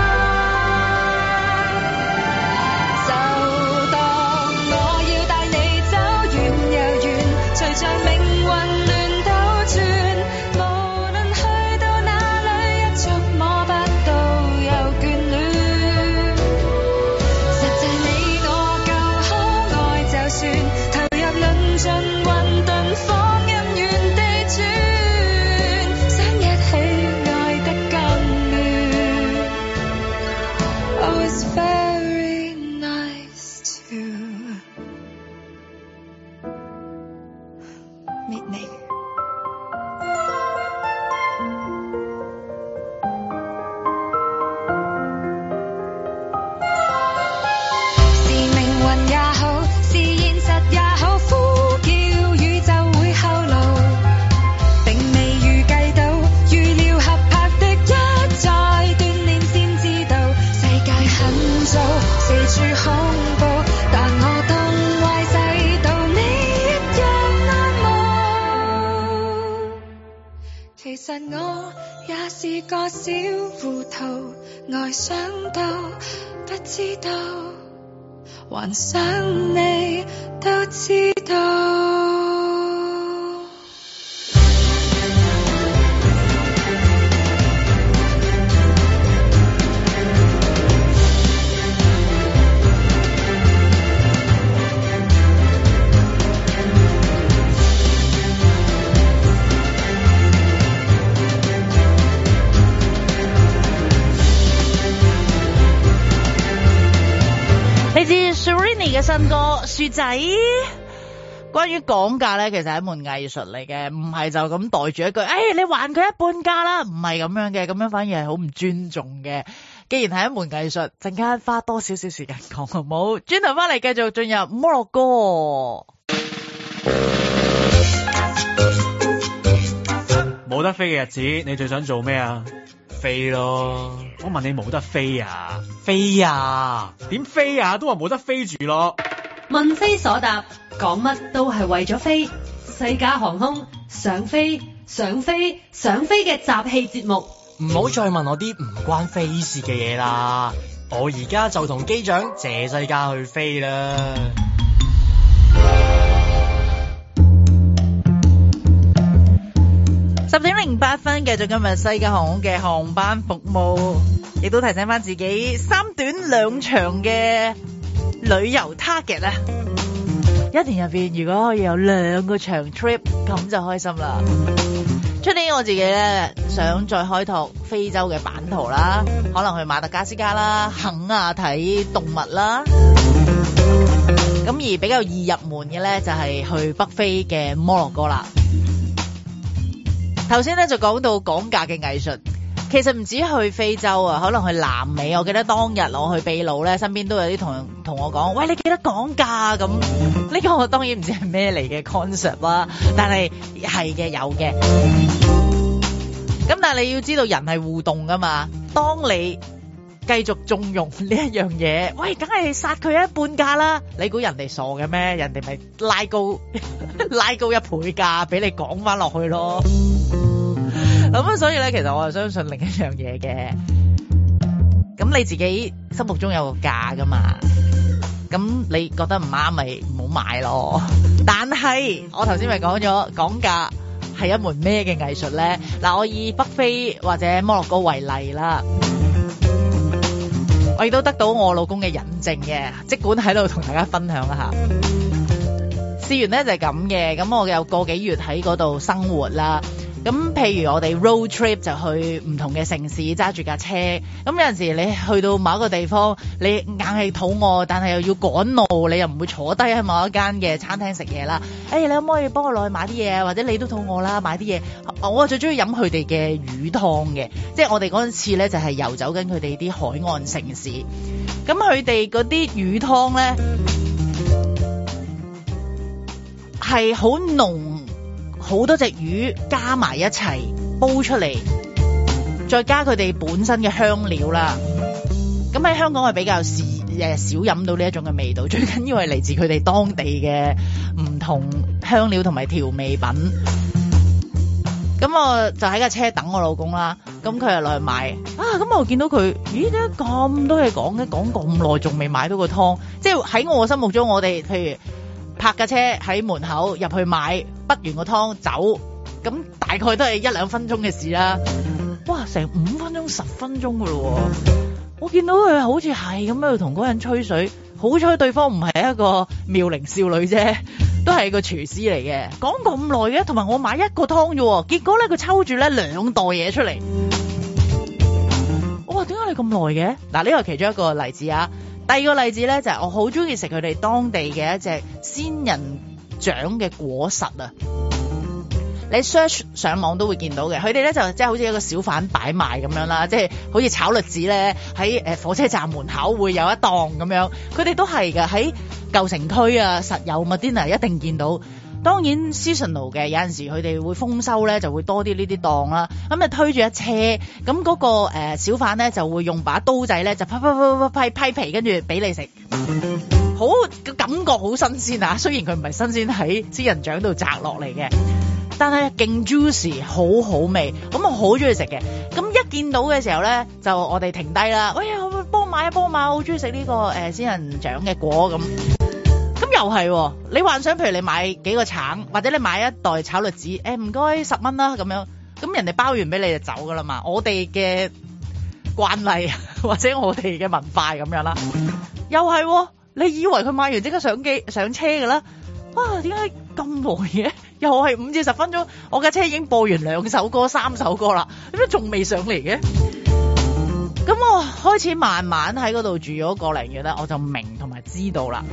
像命運亂倒轉，無論去到哪裡，一觸摸不到又眷戀。實際你我夠可愛，就算投入論盡混沌，放任原地轉，想一起愛得更亂。Oh, it's very nice to meet me。是命運也好，是現實也好，呼叫宇宙會後路，並未預計到，預料合拍的一再鍛鍊先知道，世界很糟，四處恐怖，但我當壞世道你一樣愛慕。其實我也是個小糊塗，愛上到不知道，還想你都知道。 嚟自 Serrini 嘅新歌雪仔。關於講價咧，其實係一門藝術嚟嘅，唔係就咁袋住一句，你還佢一半價啦，唔係咁樣嘅，咁樣反而係好唔尊重嘅。既然係一門藝術，陣間花多少少時間講好唔好？轉頭翻嚟繼續進入摩洛哥。 冇得飛嘅日子，你最想做咩啊？飛咯！我問你冇得飛啊？飛啊？點飛啊？都話冇得飛住咯。 問非所答，講乜都係為咗飛。西加航空想飛嘅集氣節目。 唔好再問我啲唔關飛事嘅嘢啦，我而家就同機長謝西加去飛啦。 10:08，繼續今日西加航空嘅航班服務，亦都提醒翻自己3短2長嘅旅遊 target 啊！一年入邊如果可以有2個長 trip，咁就開心啦。 出年我自己咧想再開拓非洲嘅版圖啦，可能去馬達加斯加啦、肯亞睇動物啦。咁而比較易入門嘅咧就係去北非嘅摩洛哥啦。頭先咧就講到講價嘅藝術，其實唔止去非洲啊，可能去南美。我記得當日我去秘魯咧，身邊都有啲同我講，喂，你記得講價咁。呢個我當然唔知係咩嚟嘅 concept 啦，但係嘅有嘅。咁但係你要知道人係互動噶嘛，當你繼續縱容呢一樣嘢，喂，梗係殺佢一半價啦！你估人哋傻嘅咩？人哋咪拉高一倍價俾你講翻落去咯。咁所以咧，其實我係相信另一樣嘢嘅。咁你自己心目中有個價噶嘛？咁你覺得唔啱咪唔好買咯。但係我頭先咪講咗講價係一門咩嘅藝術咧？嗱，我以北非或者摩洛哥為例啦。我亦都得到我老公嘅引證嘅，即管喺度同大家分享一下。試完咧就係咁嘅，咁我有個幾月喺嗰度生活啦。咁譬如我哋 road trip 就去唔同嘅城市揸住架車，咁有陣時你去到某一個地方，你硬係肚餓，但係又要趕路，你又唔會坐低喺某一間嘅餐廳食嘢啦。你可唔可以幫我落去買啲嘢？或者你都肚餓啦，買啲嘢。我最中意飲佢哋嘅魚湯嘅，即係我哋嗰陣次咧就係遊走緊佢哋啲海岸城市。咁佢哋嗰啲魚湯咧係好濃。好多隻魚加埋一齊煲出嚟，再加佢哋本身嘅香料啦。咁喺香港係比較少飲到呢一種嘅味道，最緊要係嚟自佢哋當地嘅唔同香料同埋調味品。咁我就喺架車等我老公啦，咁佢又落去買啊。咁我見到佢，咦，點解咁多嘢講嘅？講咁耐仲未買到個湯，即係喺我心目中，我哋譬如泊架車喺門口入去買，滗完個湯走，咁大概都係1-2分鐘嘅事啦。哇，成5分鐘10分鐘噶咯。我見到佢好似係咁喺度同嗰人吹水，好彩對方唔係一個妙齡少女啫，都係個廚師嚟嘅。講咁耐嘅，同埋我買一個湯啫，結果咧佢抽住咧2袋嘢出嚟。我話點解你咁耐嘅？嗱，呢個係其中一個例子啊。第二個例子咧就係我好中意食佢哋當地嘅一隻仙人掌嘅果實啊！你 search 上網都會見到嘅，佢哋咧就即係好似一個小販擺賣咁樣啦，即係好似炒栗子咧喺火車站門口會有一檔咁樣，佢哋都係㗎，喺舊城區啊實有Medina一定見到。當然 seasonal 嘅，有陣時佢哋會豐收咧，就會多啲呢啲檔啦。咁啊推住一車，咁嗰個小販咧就會用把刀仔咧就批皮，跟住俾你食，好感覺好新鮮啊！雖然佢唔係新鮮喺仙人掌度摘落嚟嘅，但係勁 juicy， 好好味，咁我好中意食嘅。咁一見到嘅時候咧，就我哋停低啦，喂，幫我買，我好中意食呢個仙人掌嘅果咁。咁又係，你幻想譬如你買幾個橙，或者你買一袋炒栗子，唔該10蚊啦咁樣，咁人哋包完俾你就走噶啦嘛。我哋嘅慣例或者我哋嘅文化咁樣啦，又係，你以為佢買完即刻上車噶啦？哇，點解咁耐嘅？又係5至10分鐘，我架車已經播完2首歌、3首歌啦，點解仲未上嚟嘅？咁我開始慢慢喺嗰度住咗個零月咧，我就明同埋知道啦。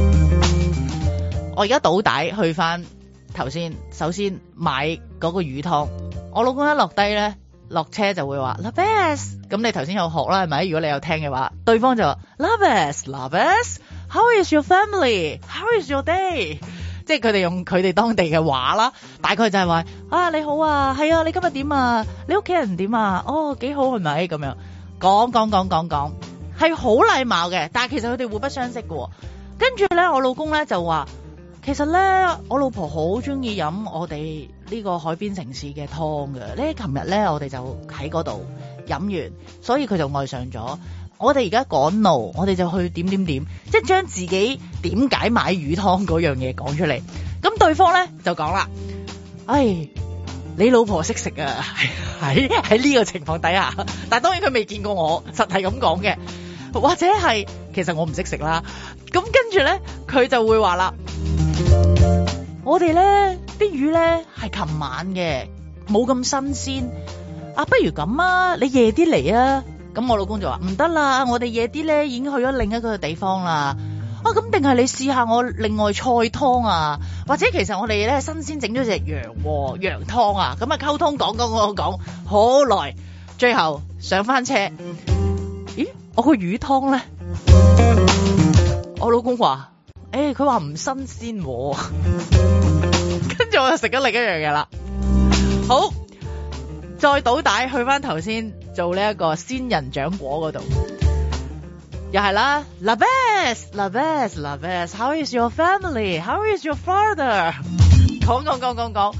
我而家倒帶去翻頭先，首先買嗰個魚湯。我老公一落低咧，落車就會話 Labes， 咁你頭先有學啦係咪？如果你有聽嘅話，對方就話 Labes，How is your family? How is your day？ 即係佢哋用佢哋當地嘅話啦，大概就係話啊你好啊，係啊，你今日點啊？你屋企人點啊？哦，幾好係咪？咁樣講係好禮貌嘅，但係其實佢哋互不相識嘅。跟住咧，我老公咧就話，其實咧我老婆好中意飲我哋呢個海邊城市嘅湯嘅。咧琴日咧我哋就喺嗰度飲完，所以佢就愛上咗。我哋而家趕路，我哋就去點，即係將自己點解買魚湯嗰樣嘢講出嚟。咁對方咧就講啦，你老婆識食啊，喺呢個情況底下，但係當然佢未見過我，實係咁講嘅，或者係其實我唔識食啦。咁跟住咧，佢就會話啦，我哋咧啲魚咧係琴晚嘅， 冇咁新鮮。啊，不如咁啊，你夜啲嚟啊。咁我老公就話唔得啦，我哋夜啲咧已經去咗另一個地方啦。啊，咁定係你試下我另外菜湯啊，或者其實我哋咧新鮮整咗隻羊湯啊。咁啊溝通講好耐，最後上翻車，咦，我個魚湯咧，我老公話佢話唔新鮮喎。跟住我就食咗另一樣嘢啦。好，再倒帶去翻頭先做呢一個仙人掌果嗰度，又係啦。La best，How is your family? How is your father? 講。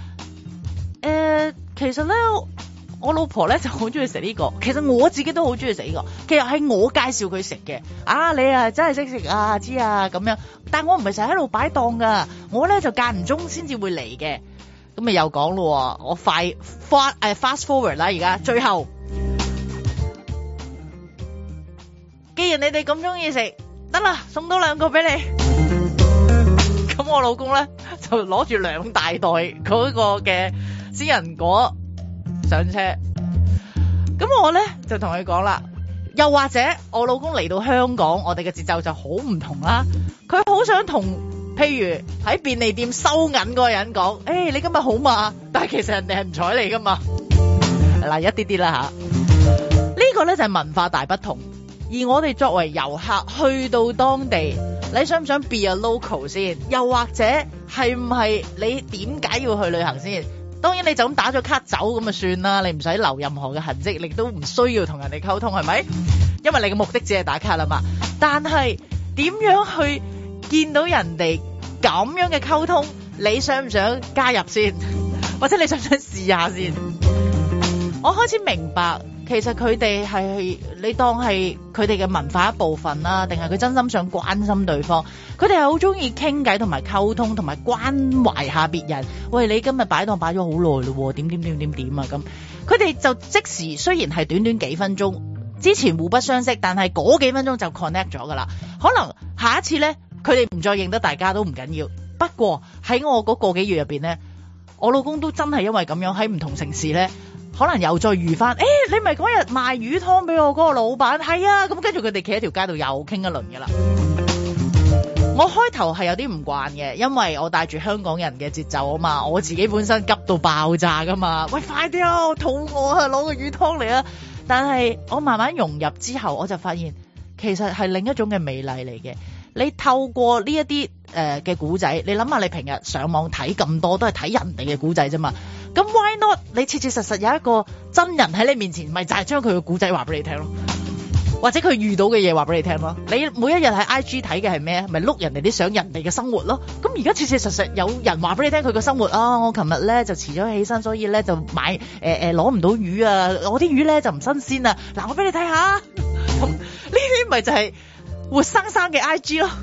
其實咧，我老婆咧就好中意食呢個，其實我自己都好中意食呢個。其實係我介紹佢食嘅。啊，你啊真係識食啊，知啊咁樣。但我唔係成日喺度擺檔噶，我咧就間唔中先至會嚟嘅。咁咪又講咯，我fast forward 啦，而家最後，既然你哋咁中意食，得啦，送多2個俾你。咁我老公咧就攞住2大袋嗰個嘅仙人果上車。咁我咧就同佢講啦，又或者我老公嚟到香港，我哋嘅節奏就好唔同啦。佢好想同譬如喺便利店收銀嗰個人講，你今日好嘛？但係其實人哋係唔睬你噶嘛。嗱，一啲啲啦吓，呢個咧就係文化大不同。而我哋作為遊客去到當地，你想唔想 be a local 先？又或者係唔係你點解要去旅行先？當然你就咁打咗卡走咁就算啦，你唔使留任何嘅痕跡，你都唔需要同人哋溝通，係咪？因為你嘅目的只係打卡啦嘛。但係點樣去見到人哋咁樣嘅溝通，你想唔想加入先？或者你想唔想試下先？我開始明白，其實佢哋係你當係佢哋嘅文化一部分啦，定係佢真心想關心對方？佢哋係好中意傾偈同埋溝通，同埋關懷下別人。喂，你今日擺檔擺咗好耐咯，點啊咁？佢哋就即時，雖然係短短幾分鐘，之前互不相識，但係嗰幾分鐘就 connect 咗噶啦。可能下一次咧，佢哋唔再認得大家都唔緊要。不過喺我嗰個幾月入邊咧，我老公都真係因為咁樣喺唔同城市咧，可能又再遇翻。你咪嗰日賣魚湯俾我嗰個老闆？係啊，咁跟住佢哋企喺條街度又傾一輪噶啦。我開頭係有啲唔慣嘅，因為我帶住香港人嘅節奏啊嘛，我自己本身急到爆炸噶嘛。喂，快啲啊，我肚餓啊，攞個魚湯嚟啊！但係我慢慢融入之後，我就發現其實係另一種嘅美麗嚟嘅。你透過呢一啲嘅古仔，你諗下你平日上網睇咁多都係睇人哋嘅古仔啫嘛。咁 why not 你切切實實有一個真人喺你面前，咪就係將佢嘅古仔話俾你聽咯，或者佢遇到嘅嘢話俾你聽咯。你每一日喺 IG 睇嘅係咩？咪碌人哋啲相，人哋嘅生活咯。咁而家切切實實有人話俾你聽佢嘅生活啊！我琴日咧就遲咗起身，所以咧就買攞唔到魚啊！我啲魚咧就唔新鮮啊！嗱，我俾你睇下。咁呢啲咪就係活生生嘅 IG 咯。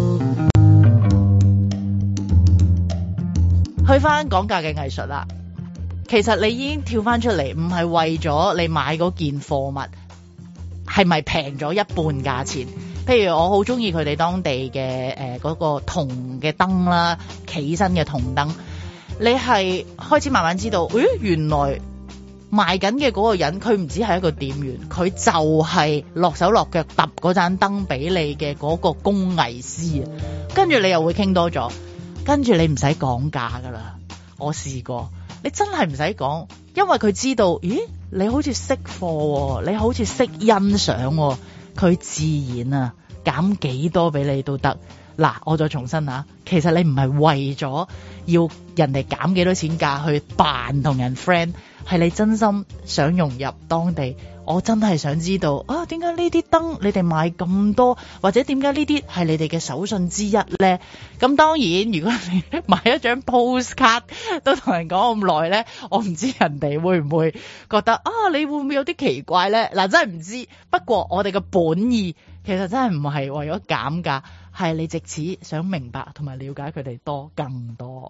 去翻講價嘅藝術啦，其實你已經跳翻出嚟，唔係為咗你買嗰件貨物係咪平咗一半價錢。譬如我好中意佢哋當地嘅嗰個銅嘅燈啦，企身嘅銅燈，你係開始慢慢知道，原來賣緊嘅嗰個人佢唔止係一個店員，佢就係落手落腳揼嗰盞燈俾你嘅嗰個工藝師。跟住你又會傾多咗，跟住你唔使講價噶啦。我試過，你真係唔使講，因為佢知道，咦，你好似識貨，你好似識欣賞，佢自然啊減幾多俾你都得。嗱，我再重申下，其實你唔係為咗要人哋減幾多錢價去扮同人 friend， 係你真心想融入當地。我真係想知道啊，點解呢啲燈你哋買咁多，或者點解呢啲係你哋嘅手信之一呢？咁當然，如果你買一張 postcard 都同人講咁耐呢，我唔知人哋會唔會覺得啊，你會唔會有啲奇怪呢？嗱，真係唔知。不過我哋嘅本意其實真係唔係為咗減價，係你藉此想明白同埋了解佢哋更多。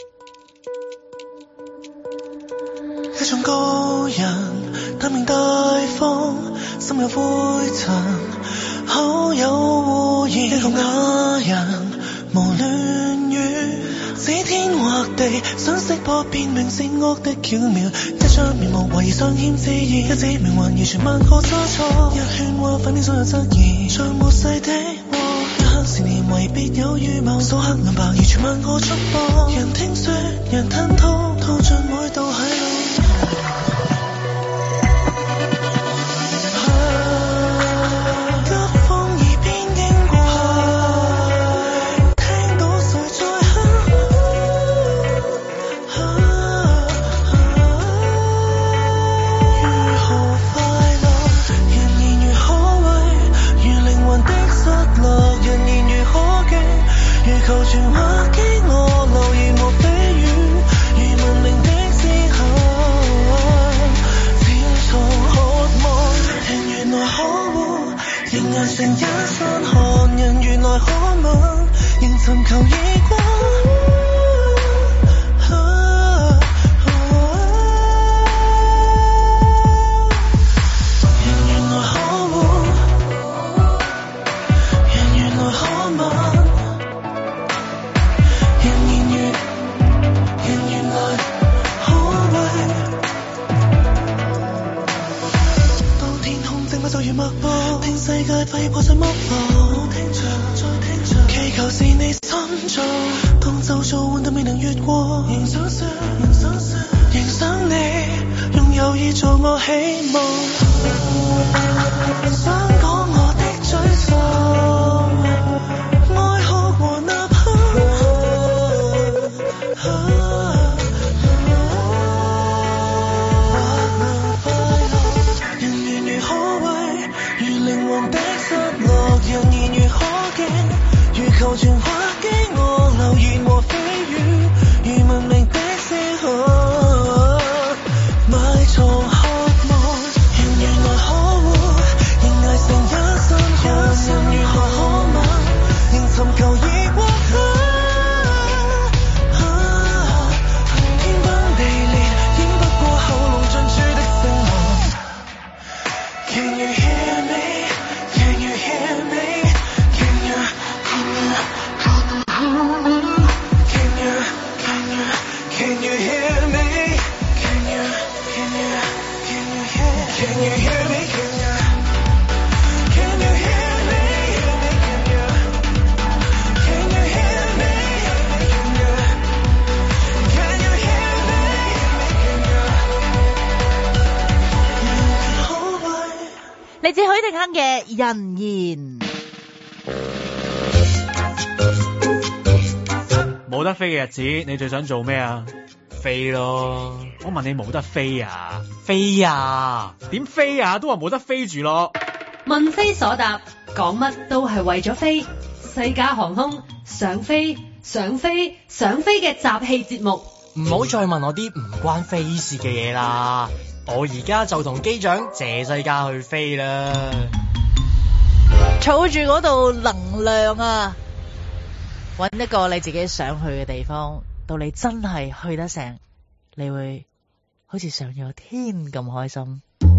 一種高人，大名大方，心有灰塵，口有污言。一個啞人，無亂語，指天畫地，想識破辨明善惡的巧妙。一張面目懷疑相欠自然，一指命還完全萬個差錯。一勸話反面所有質疑，像末世的禍。一刻是年為別有預謀，數刻兩百完全萬個束縛。人聽說，人吞吐，吐盡每道喺路。求全話給我留言和蜚語，如文明的思考，漸從渴望，人原來可惡，仍捱成一身汗，人原來可吻，仍尋求異光。聽世界揮破碎幕布，聽着再聽着，祈求是你心造。當周遭換得未能越過，仍想說，仍想你，用友誼做我希望。想講我的沮喪，愛哭和吶喊。人言如可敬，如求全話給我留言和蜚語，如文明的思考，埋藏渴望。人原來可惡，仍捱成一身汗，人如何可吻，仍尋求異國。天崩地裂，掩不過喉嚨盡處的聲浪。Can you hear me? Can you hear me? Can you hear me? Can you hear me? Can you hear me? Can you hear me? Can you hear me? 嚟自許廷鏗嘅人言。 冇得飛嘅日子，你最想做咩啊？飛咯！我問你冇得飛啊？飛啊？點飛啊？都話冇得飛住咯。 問非所答，講乜都係為咗飛。西加航空想飛想飛想飛嘅集氣節目。 唔好再問我啲唔關飛事嘅嘢啦。我而家就同機長謝世嘉去飛啦。 儲住嗰度能量啊！搵一個你自己想去嘅地方，到你真係去得成，你會好似上咗天咁開心。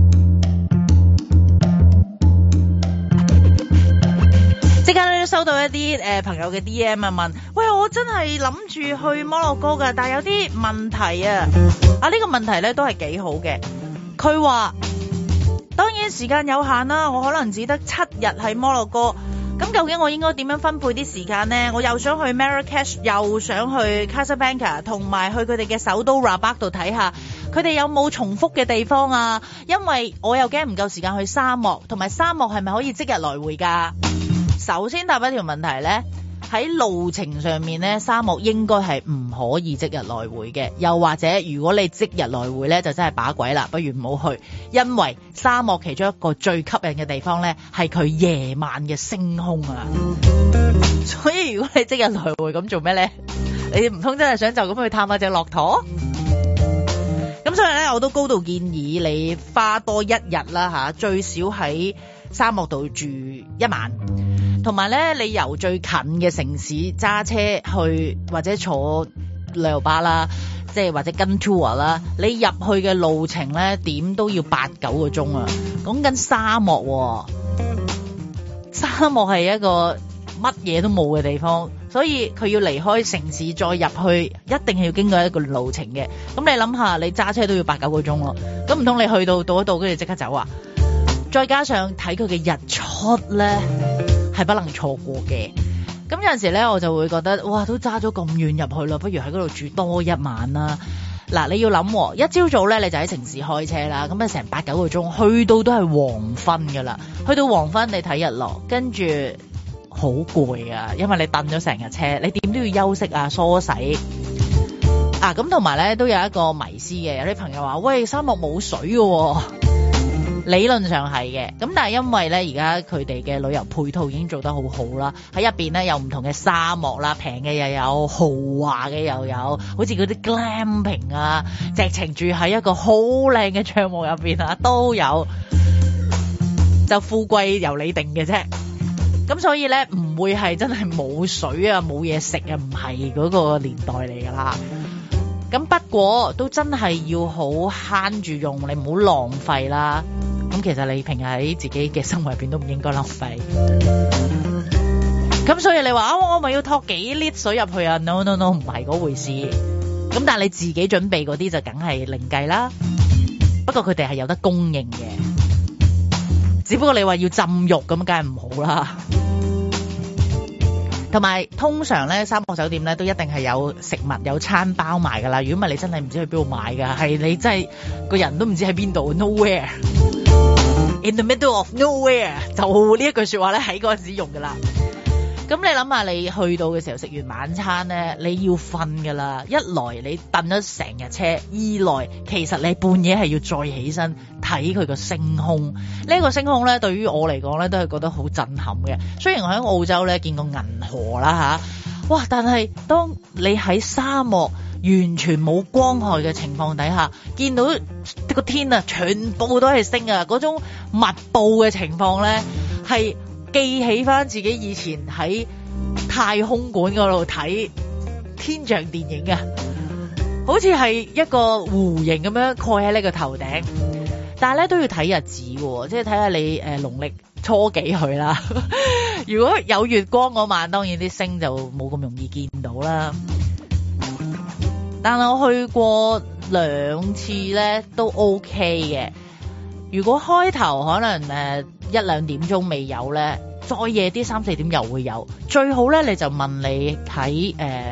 即刻咧都收到一啲朋友嘅 DM 啊，問：喂，我真係諗住去摩洛哥㗎，但係有啲問題啊！呢個問題咧都係幾好嘅。佢話：當然時間有限啦，我可能只得7日喺摩洛哥。咁究竟我應該點樣分配啲時間呢？我又想去 Marrakesh， 又想去 Casablanca， 同埋去佢哋嘅首都 Rabat 度睇下，佢哋有冇重複嘅地方啊？因為我又驚唔夠時間去沙漠，同埋沙漠係咪可以即日來回㗎？首先答一條問題呢，喺路程上面呢，沙漠應該係唔可以即日來回嘅，又或者如果你即日來回呢，就真係把鬼啦，不如唔好去，因為沙漠其中一個最吸引嘅地方呢，係佢夜晚嘅星空啊！所以如果你即日來回咁做咩呢？你唔通真係想就咁去探下隻駱駝？咁所以呢，我都高度建議你花多1日啦吓，最少喺沙漠度住1晚。同埋咧，你由最近嘅城市揸車去，或者坐旅遊巴啦，即係或者跟 tour 啦，你入去嘅路程咧，點都要8-9個鐘啊！講緊沙漠喎，沙漠係一個乜嘢都冇嘅地方， 所以佢要離開城市再入去，一定係要經過一個路程嘅。咁你諗下，你揸車都要8-9個鐘咯，咁唔通你去到一度跟住即刻走啊？再加上睇佢嘅日出咧，係不能錯過嘅。咁有陣時咧，我就會覺得，哇，都揸咗咁遠入去咯，不如喺嗰度住多一晚啦。嗱，你要諗，一朝早咧你就喺城市開車啦，咁啊成8-9個鐘，去到都係黃昏噶啦。去到黃昏你睇日落，跟住好攰啊，因為你蹬咗成日車，你點都要休息啊、梳洗啊。咁同埋咧都有一個迷思嘅，有啲朋友話：喂，沙漠冇水嘅喎。理論上係嘅，咁但係因為咧而家佢哋嘅旅遊配套已經做得好好啦，喺入邊咧有唔同嘅沙漠啦，平嘅又有，豪華嘅又有，好似嗰啲 glamping 啊，直情住喺一個好靚嘅帳幕入邊啊，都有，就富貴由你定嘅啫。咁所以咧唔會係真係冇水啊，冇嘢食啊，唔係嗰個年代嚟噶啦。咁不過都真係要好慳住用，你唔好浪費啦。咁其實你平日喺自己嘅生活入邊都唔應該浪費。咁所以你話我咪要托幾 lit 水入去啊 ？No， 唔係嗰回事。咁但係你自己準備嗰啲就梗係另計啦。不過佢哋係有得供應嘅，只不過你話要浸浴咁，梗係唔好啦。同埋通常咧，沙漠酒店咧都一定係有食物有餐包埋噶啦。如果唔係，你真係唔知去邊度買噶，係你真係個人都唔知喺邊度 ，nowhere in the middle of nowhere， 就呢一句說話咧喺嗰陣時用噶啦。咁你諗下，你去到嘅時候食完晚餐咧，你要瞓噶啦。一來你蹬咗成日車，二來其實你半夜係要再起身睇佢個星空。呢個星空咧，對於我嚟講咧，都係覺得好震撼嘅。雖然我喺澳洲咧見過銀河啦吓，哇！但係當你喺沙漠完全冇光害嘅情況底下，見到個天啊，全部都係星啊，嗰種密布嘅情況咧，係記起翻自己以前喺太空館嗰度睇天象電影啊，好似係一個弧形咁樣蓋喺你個頭頂。但係咧都要睇日子嘅，即係睇下你農曆初幾去啦。如果有月光嗰晚，當然啲星就冇咁容易見到啦。但係我去過2次咧都 OK 嘅。如果開頭可能1-2點鐘未有咧，再夜啲3-4點又會有。最好咧，你就問你喺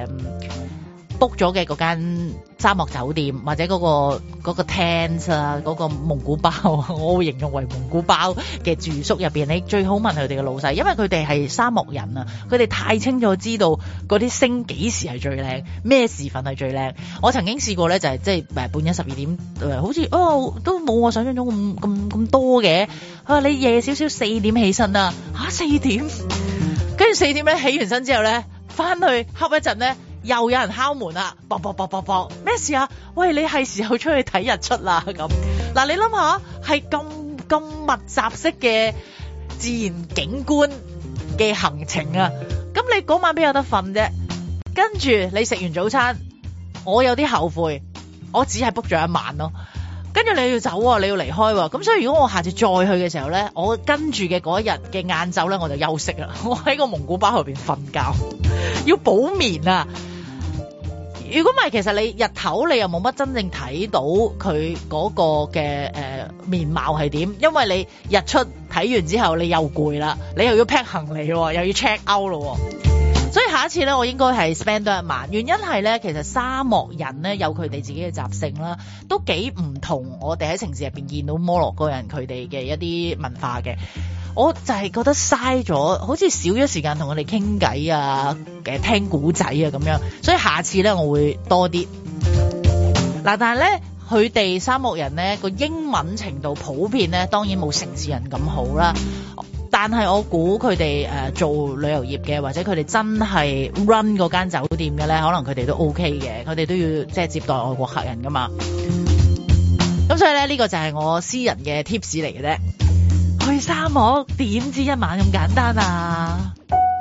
book 咗嘅嗰間沙漠酒店或者嗰個 tent 啊，嗰個蒙古包，我會形容為蒙古包嘅住宿入邊，你最好問佢哋嘅老細，因為佢哋係沙漠人啊，佢哋太清楚知道嗰啲星幾時係最靚，咩時分係最靚。我曾經試過咧，就係即係半夜12點，好似都冇我想象中咁多嘅。你夜少少4點起身啊，4點，跟住4點咧起完身之後咧，翻去瞌一陣咧。又有人敲門啦，啵啵啵啵啵，咩事啊？喂，你係時候出去睇日出啦咁。嗱，你諗下，係咁密集式嘅自然景觀嘅行程啊，咁你嗰晚邊有得瞓啫？跟住你食完早餐，我有啲後悔，我只係 book 咗1晚咯。跟住你要走啊，你要離開喎。咁所以如果我下次再去嘅時候咧，我跟住嘅嗰一日嘅晏晝咧，我就休息啦。我喺個蒙古包入邊瞓覺，要補眠啊。如果唔係，其實你日頭你又冇乜真正睇到佢嗰個嘅面貌係點，因為你日出睇完之後你又攰啦，你又要 pack 行李，又要 check out 咯。所以下一次咧，我應該係 spend 多1晚。原因係咧，其實沙漠人咧有佢哋自己嘅習性啦，都幾唔同我哋喺城市入邊見到摩洛哥人佢哋嘅一啲文化嘅。我就係覺得嘥咗，好似少咗時間同佢哋傾偈啊，聽古仔啊咁樣。所以下次咧，我會多啲。嗱，但係咧，佢哋沙漠人咧個英文程度普遍咧，當然冇城市人咁好啦。但係我估佢哋做旅遊業嘅，或者佢哋真係 run 嗰間酒店嘅咧，可能佢哋都 OK 嘅。佢哋都要即係接待外國客人噶嘛。咁所以咧，呢個就係我私人嘅 tips 嚟嘅啫。去沙漠點知1晚咁簡單啊？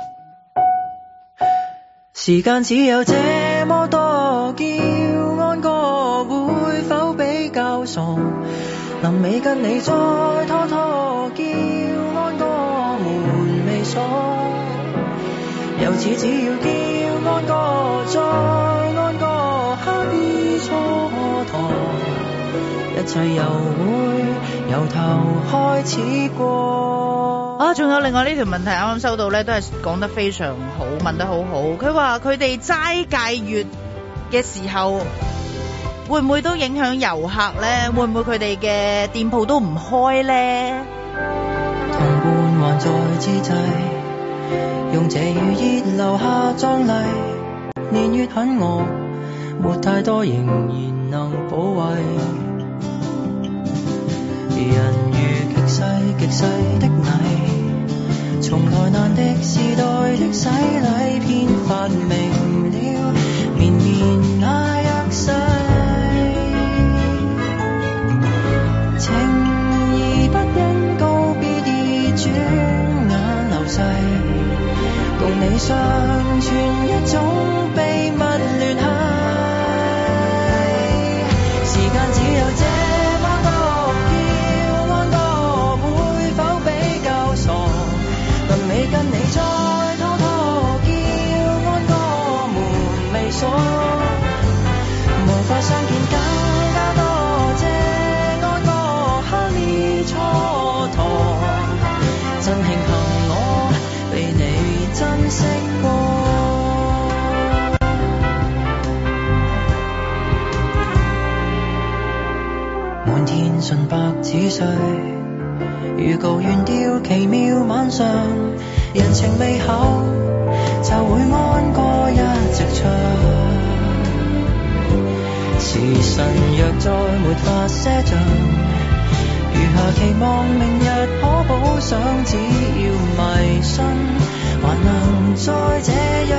時間只有這麼多，叫安哥會否比較傻？臨尾跟你再拖拖，叫安哥門未鎖。有就似只要叫安歌再安歌，刻意蹉跎，一切又會由頭開始過。 啊，仲有另外呢條問題啱啱收到咧，都係講得非常好，問得好好。佢話佢哋齋戒月嘅時候，會唔會都影響遊客咧？會唔會佢哋嘅店鋪都唔開咧？ 同伴還在之際，用這雨熱留下壯麗，年月很餓，沒太多仍然能保衛。人如極細極細的泥，從來難敵時代的洗禮，偏發明了綿綿那約誓，情義不因告別而轉眼流逝，共你相傳一種秘密聯繫，時間只有這麼多，叫安歌會否比較傻，臨尾跟你再拖拖，叫安歌門未鎖，無法相見更加多，這安歌刻意蹉跎，真慶幸我被你珍惜過。滿天純白紙碎，預告原調奇妙晚上，人情未厚就會安歌一直唱。時辰若再沒法賒賬，餘下期望明日可補上，只要迷信還能再這樣。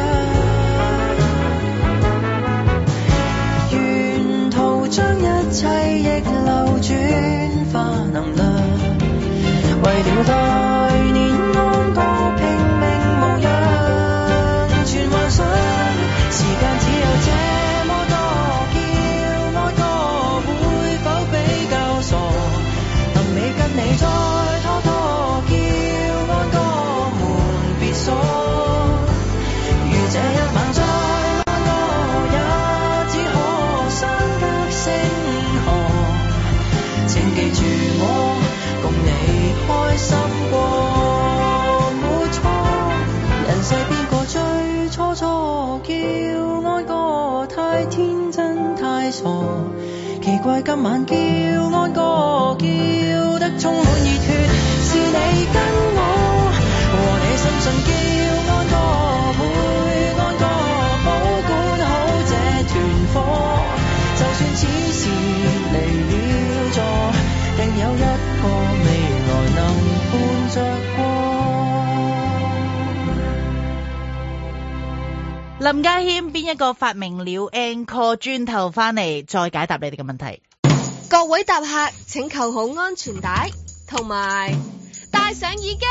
沿途將一切逆流轉化能量，為了來年安歌拼命無恙，全幻想時間只有這麼多，叫安歌會否比較傻，臨尾跟你再拖拖，叫安歌門別鎖，如這一晚再安歌也只可相隔星河，請記住我共你開心過，沒錯，人世邊個最初初叫安歌太天真太傻，奇怪今晚叫安歌叫得充滿熱血，是你跟我和你深信叫安歌會安歌，保管好這團火，就算此時離了座，定有一個未來能伴着過。 林家謙邊一個發明了 Encore 磚頭翻嚟，再解答你哋嘅問題。 各位搭客請扣好安全帶，同埋戴上耳機。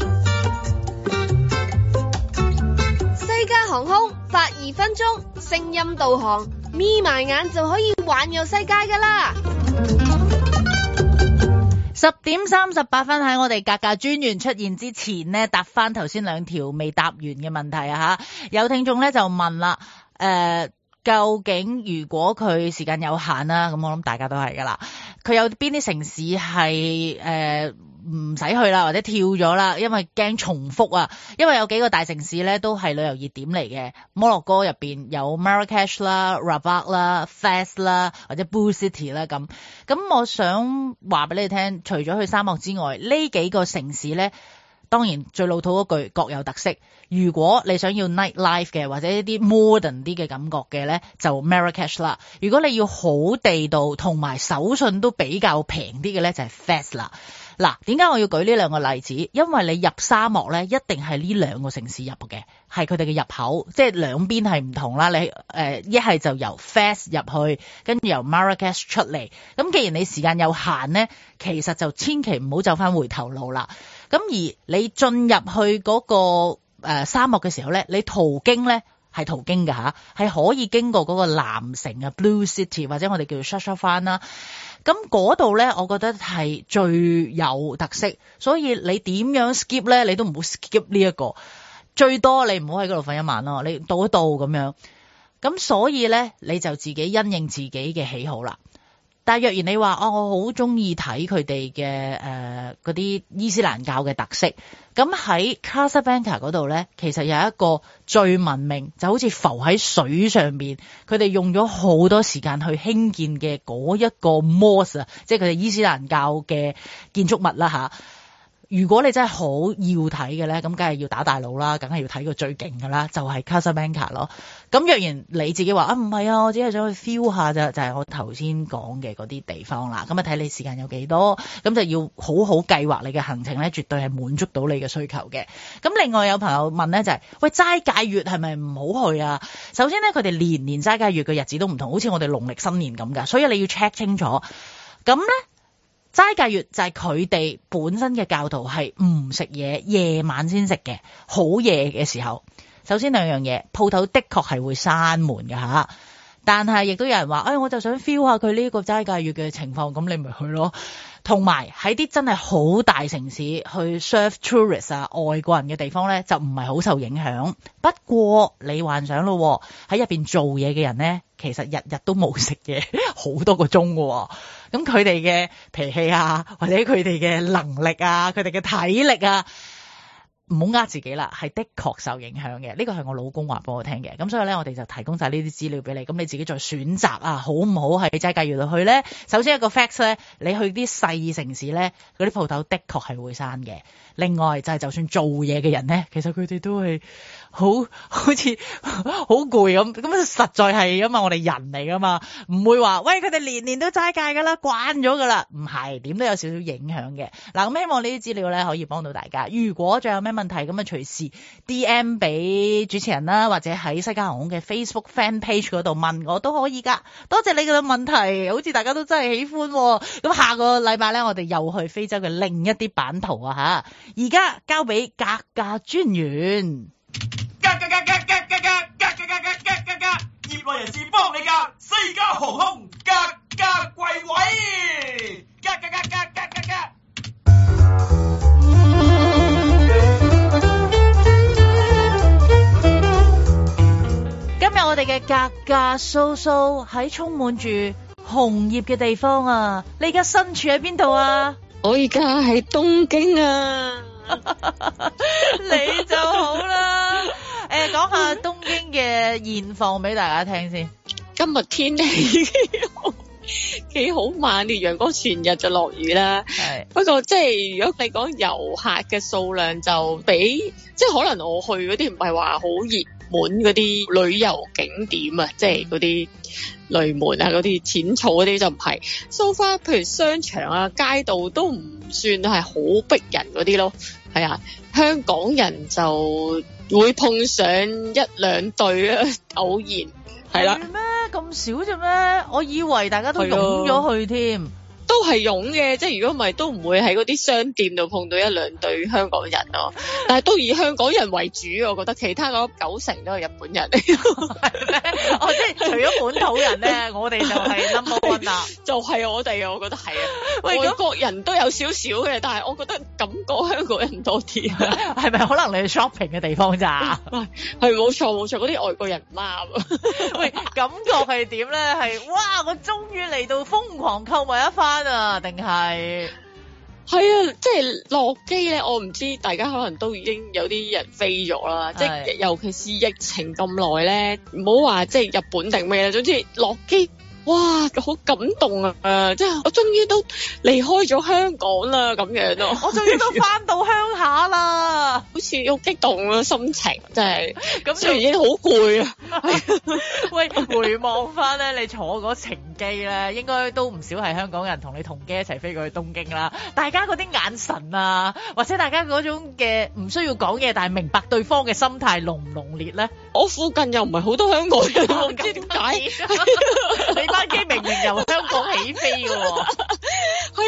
西加航空發2分鐘聲音導航，眯埋眼就可以環遊世界㗎啦。 10:38喺我哋格價專員出現之前呢，答翻頭先2條未答完嘅問題啊吓。有聽眾咧就問啦，究竟如果佢時間有限啦，咁我諗大家都係噶啦，佢有邊啲城市係唔使去啦，或者跳咗啦，因為驚重複啊。因為有幾個大城市咧都係旅遊熱點嚟嘅，摩洛哥入邊有 Marrakech 啦、Rabat 啦、Fez 啦，或者 Bou City 啦咁。咁我想話俾你聽，除咗去沙漠之外，呢幾個城市咧，當然最老土嗰句各有特色。如果你想要 night life 嘅，或者一啲 modern 啲嘅感覺嘅咧，就 Marrakech 啦。如果你要好地道同埋手信都比較平啲嘅咧，就係 Fez 啦。嗱，點解我要舉呢兩個例子？因為你入沙漠咧，一定係呢兩個城市入嘅，係佢哋嘅入口，即係兩邊係唔同啦。你一係就由 Fez 入去，跟住由 Marrakech 出嚟。咁既然你時間有限咧，其實就千祈唔好走翻回頭路啦。咁而你進入去嗰個沙漠嘅時候咧，你途經咧係途經㗎吓，係可以經過嗰個藍城啊 Blue City 或者我哋叫做 Chefchaouen 啦。咁嗰度咧，我覺得係最有特色，所以你點樣 skip 咧，你都唔好 skip 呢一個。 最多你唔好喺嗰度瞓一晚咯，你到一到咁樣。咁所以咧，你就自己因應自己嘅喜好啦。但若然你話我好中意睇佢哋嘅嗰啲伊斯蘭教嘅特色，咁喺 Casablanca 嗰度咧，其實有一個最聞名，就好似浮喺水上面，佢哋用咗好多時間去興建嘅嗰一個 mosque 啊，即係佢哋伊斯蘭教嘅建築物啦吓。如果你真係好要睇嘅咧，咁梗係要打大佬啦，梗係要睇個最勁㗎啦，就係 Casablanca 咯。咁若然你自己話唔係啊，我只係想去 feel 下咋，就係我頭先講嘅嗰啲地方啦。咁啊睇你時間有幾多，咁就要好好計劃你嘅行程咧，絕對係滿足到你嘅需求嘅。咁另外有朋友問咧就係，喂，齋戒月係咪唔好去啊？首先咧，佢哋年年齋戒月嘅日子都唔同，好似我哋農曆新年咁㗎，所以你要 check 清楚。咁咧。齋戒月就係佢哋本身嘅教徒係唔食嘢，夜晚先食嘅，好夜嘅時候。首先兩樣嘢，鋪頭的確係會閂門㗎吓，但係亦都有人話，我就想 feel 下佢呢個齋戒月嘅情況，咁你咪去咯。同埋喺啲真係好大城市去 serve tourists 啊，外國人嘅地方咧，就唔係好受影響。不過你幻想咯，喺入邊做嘢嘅人咧，其實日日都冇食嘢好多個鐘喎。咁佢哋嘅脾氣啊，或者佢哋嘅能力啊，佢哋嘅體力啊，唔好呃自己啦，係的確受影響嘅。呢個係我老公話俾我聽嘅。咁所以咧，我哋就提供晒呢啲資料俾你，咁你自己再選擇啊，好唔好喺齋戒月度去咧？首先一個 facts 咧，你去啲細城市咧，嗰啲鋪頭的確係會閂嘅。另外就係就算做嘢嘅人咧，其實佢哋都係好似好攰咁，實在係因為我哋人嚟噶嘛，唔會話喂佢哋年年都齋戒噶啦，慣咗噶啦，唔係，點都有少少影響嘅。嗱，咁希望呢啲資料咧可以幫到大家。如果仲有咩問題，咁啊隨時 DM 俾主持人啦，或者喺西加航空嘅 Facebook Fan Page 嗰度問我都可以噶。多謝你嘅問題，好似大家都真係喜歡。咁下個禮拜咧，我哋又去非洲嘅另一啲版圖啊吓。而家交俾格價專員， 業內人士幫你㗎，西加航空格價貴位， 今日我哋嘅格價蘇蘇喺充滿住紅葉嘅地方啊！你而家身處喺邊度啊？ 我而家喺東京啊！ 你就好啦。講下東京嘅現況俾大家聽先。 今日天氣幾好，猛烈陽光，全日就落雨啦。係，不過即係如果你講遊客嘅數量就比，即係可能我去嗰啲唔係話好熱門嗰啲旅遊景點啊，即係嗰啲雷門啊，嗰啲淺草嗰啲就唔係。So far，譬如商場啊、街道都唔算係好逼人嗰啲咯。係啊，香港人就會碰上一兩對啊，偶然係啦。 咩咁少啫咩？我以為大家都湧咗去添。 都係湧嘅，即係如果唔係都唔會喺嗰啲商店度碰到一兩對香港人咯。但係都以香港人為主，我覺得其他嗰90%都係日本人嚟。 係咩？哦，即係除咗本土人咧，我哋就係 number one 啦。 就係我哋啊，我覺得係啊。外國人都有少少嘅，但係我覺得感覺香港人多啲。 係咪可能你去 shopping 嘅地方咋？ 係冇錯冇錯，嗰啲外國人唔啱。 喂，感覺係點咧？係哇！我終於嚟到瘋狂購物一番。定係係啊，即係落機咧，我唔知大家可能都已經有啲人飛咗啦，即係尤其是疫情咁耐咧，唔好話即係日本定咩啦，總之落機。哇，好感動啊！即係我終於都離開咗香港啦，咁樣咯。 我終於都翻到鄉下啦， 好似好激動啊，心情真係。咁雖然已經好攰啊。 喂，回望翻咧，你坐嗰程機咧，應該都唔少係香港人同你同機一齊飛過去東京啦。大家嗰啲眼神啊，或者大家嗰種嘅唔需要講嘢，但係明白對方嘅心態濃唔濃烈咧？ 我附近又唔係好多香港人，我唔知點解。 你班機明明由香港起飛嘅喎。 係啊，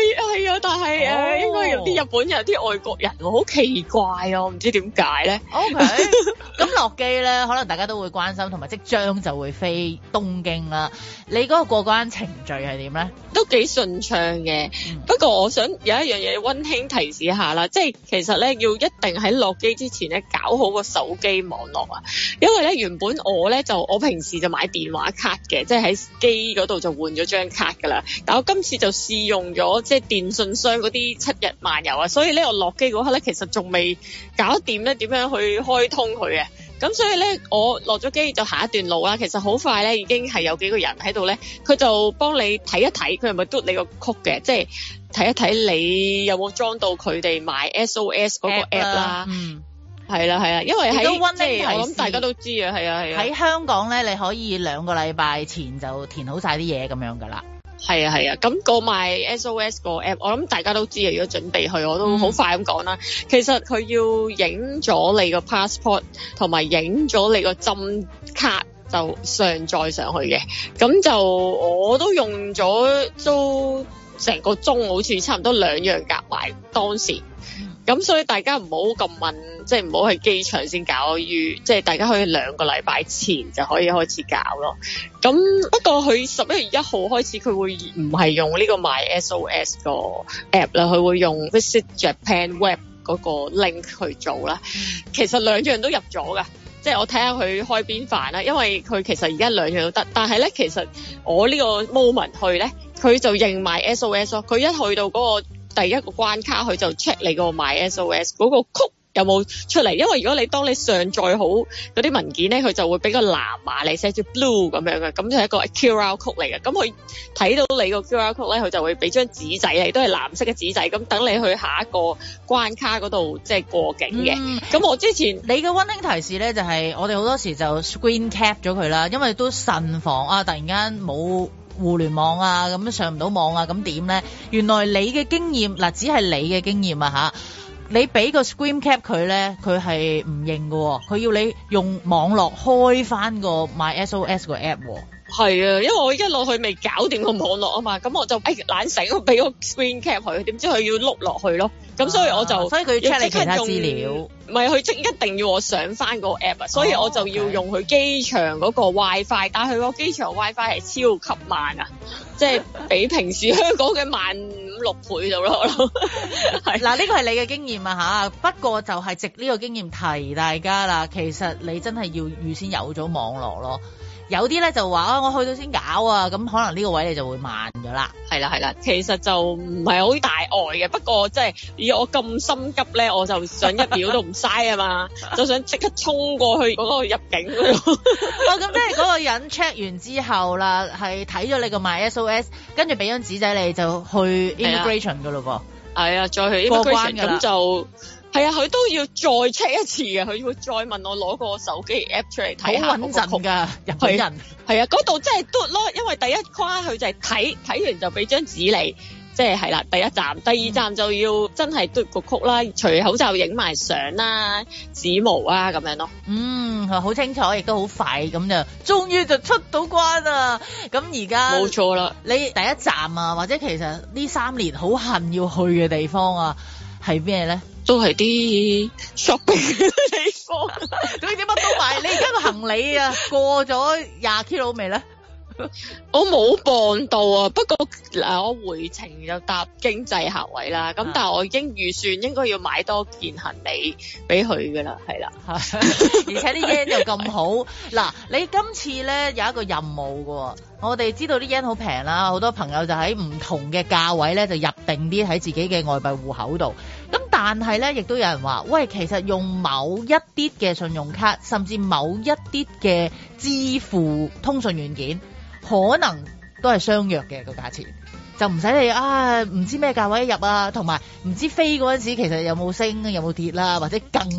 係啊，但係應該有啲日本人、啲外國人好奇怪啊，我唔知點解咧。 OK， 咁落機咧，可能大家都會關心，同埋即將就會飛東京啦。你嗰個過關程序係點咧？ 都幾順暢嘅，不過我想有一樣嘢溫馨提示下啦，即係其實咧要一定喺落機之前咧搞好個手機網絡啊，因為咧原本我平時就買電話卡嘅，即係喺機嗰度就換咗張卡噶啦，但我今次就試用咗即係電信商嗰啲7日漫遊啊，所以咧我落機嗰刻咧其實仲未搞掂咧點樣去開通佢嘅。咁所以咧，我落咗機就下一段路啦。其實好快咧，已經係有幾個人喺度咧，佢就幫你睇一睇，佢係咪嘟你個曲嘅，即係睇一睇你有冇裝到佢哋賣 SOS 嗰個 app 啦。係啦，因為喺即係我諗大家都知啊，係啊。 喺香港咧，你可以2個禮拜前就填好晒啲嘢咁樣噶啦。 係啊，咁個賣 SOS 個 app， 我諗大家都知啊。如果準備去，我都好快咁講啦。其實佢要影咗你個 passport 同埋影咗你個針卡就上載上去嘅。咁就我都用咗都成個鐘，好似差唔多2樣夾埋當時。咁所以大家唔好咁問，即係唔好去機場先搞，即係大家可以2個禮拜前就可以開始搞咯。咁不過佢11月1號開始，佢會唔係用呢個 MySOS 個 app 啦，佢會用 Visit Japan Web 嗰個 link 去做啦。其實2樣都入咗噶，即係我睇下佢開邊範啦，因為佢其實而家2樣都得，但係咧其實我呢個 moment 去咧，佢就認埋 SOS 咯。佢一去到嗰個第一個關卡，佢就 check 你個 MySOS 嗰個曲有冇出嚟，因為如果當你上載好嗰啲文件咧，佢就會俾個藍碼你寫住 blue 咁樣嘅，咁就係一個 QR code 嚟嘅。咁佢睇到你個 QR code 咧，佢就會俾張紙仔你，都係藍色嘅紙仔，咁等你去下一個關卡嗰度即係過境嘅。咁我之前你嘅溫馨提示咧，就係我哋好多時就 screen cap 咗佢啦，因為都慎防啊，突然間冇互聯網啊，咁上唔到網啊，咁點咧？原來你嘅經驗嗱，只係你嘅經驗啊吓，你俾個 screen cap 佢咧，佢係唔認嘅，佢要你用網絡開翻個 MySOS 個 app。 係啊，因為我一落去未搞掂個網絡啊嘛，咁我就懶醒，我俾個 screen cap 佢，點知佢要碌落去咯，咁所以我就所以佢要 check 你其他資料， 唔係佢一定要我上翻個 app 啊，所以我就要用佢機場嗰個 WiFi，但係佢個機場 WiFi 係超級慢啊，即係比平時香港嘅慢5-6倍到咯。係嗱，呢個係你嘅經驗啊吓，不過就係藉呢個經驗提大家啦，其實你真係要預先有咗網絡咯。有啲咧就話我去到先搞啊，咁可能呢個位你就會慢咗啦。 係啦，其實就唔係好大礙嘅，不過即係以我咁心急咧，我就想1秒都唔嘥啊嘛，就想即刻衝過去嗰個入境嗰度。 咁即係嗰個人 check 完之後啦，係睇咗你個 MySOS， 跟住俾張紙仔你就去 immigration 噶咯噃。係啊，再去 immigration 咁就。係啊，佢都要再 check 一次嘅，佢會再問我攞個手機 app 出嚟睇下。好穩陣㗎，日本人。係啊，嗰度真係嘟咯，因為第一關佢就係睇完就俾張紙你，即係啦，第一站，第二站就要真係嘟個曲啦，除口罩影埋相啦，指模啊咁樣咯。 好清楚，亦都好快咁就，終於就出到關啦。咁而家冇錯啦， 你第一站啊，或者其實呢3年好恨要去嘅地方啊，係咩咧？ 都係啲 shopping 嘅地方， 咁你點乜都買？你而家個行李啊過咗20 kilo 未咧？ 我冇磅到啊，不過我回程就搭經濟客位啦，咁但係我已經預算應該要買多件行李俾佢噶啦，係啦， 而且啲 yen 又咁好。嗱，你今次咧有一個任務噶，我哋知道啲 yen 好平啦，好多朋友就喺唔同嘅價位咧就入定啲喺自己嘅外幣戶口度。咁但係咧，亦都有人話，喂，其實用某一啲嘅信用卡，甚至某一啲嘅支付通訊軟件，可能都係相約嘅個價錢，就唔使你唔知咩價位入啊，同埋唔知飛嗰陣時其實有冇升有冇跌啦，或者更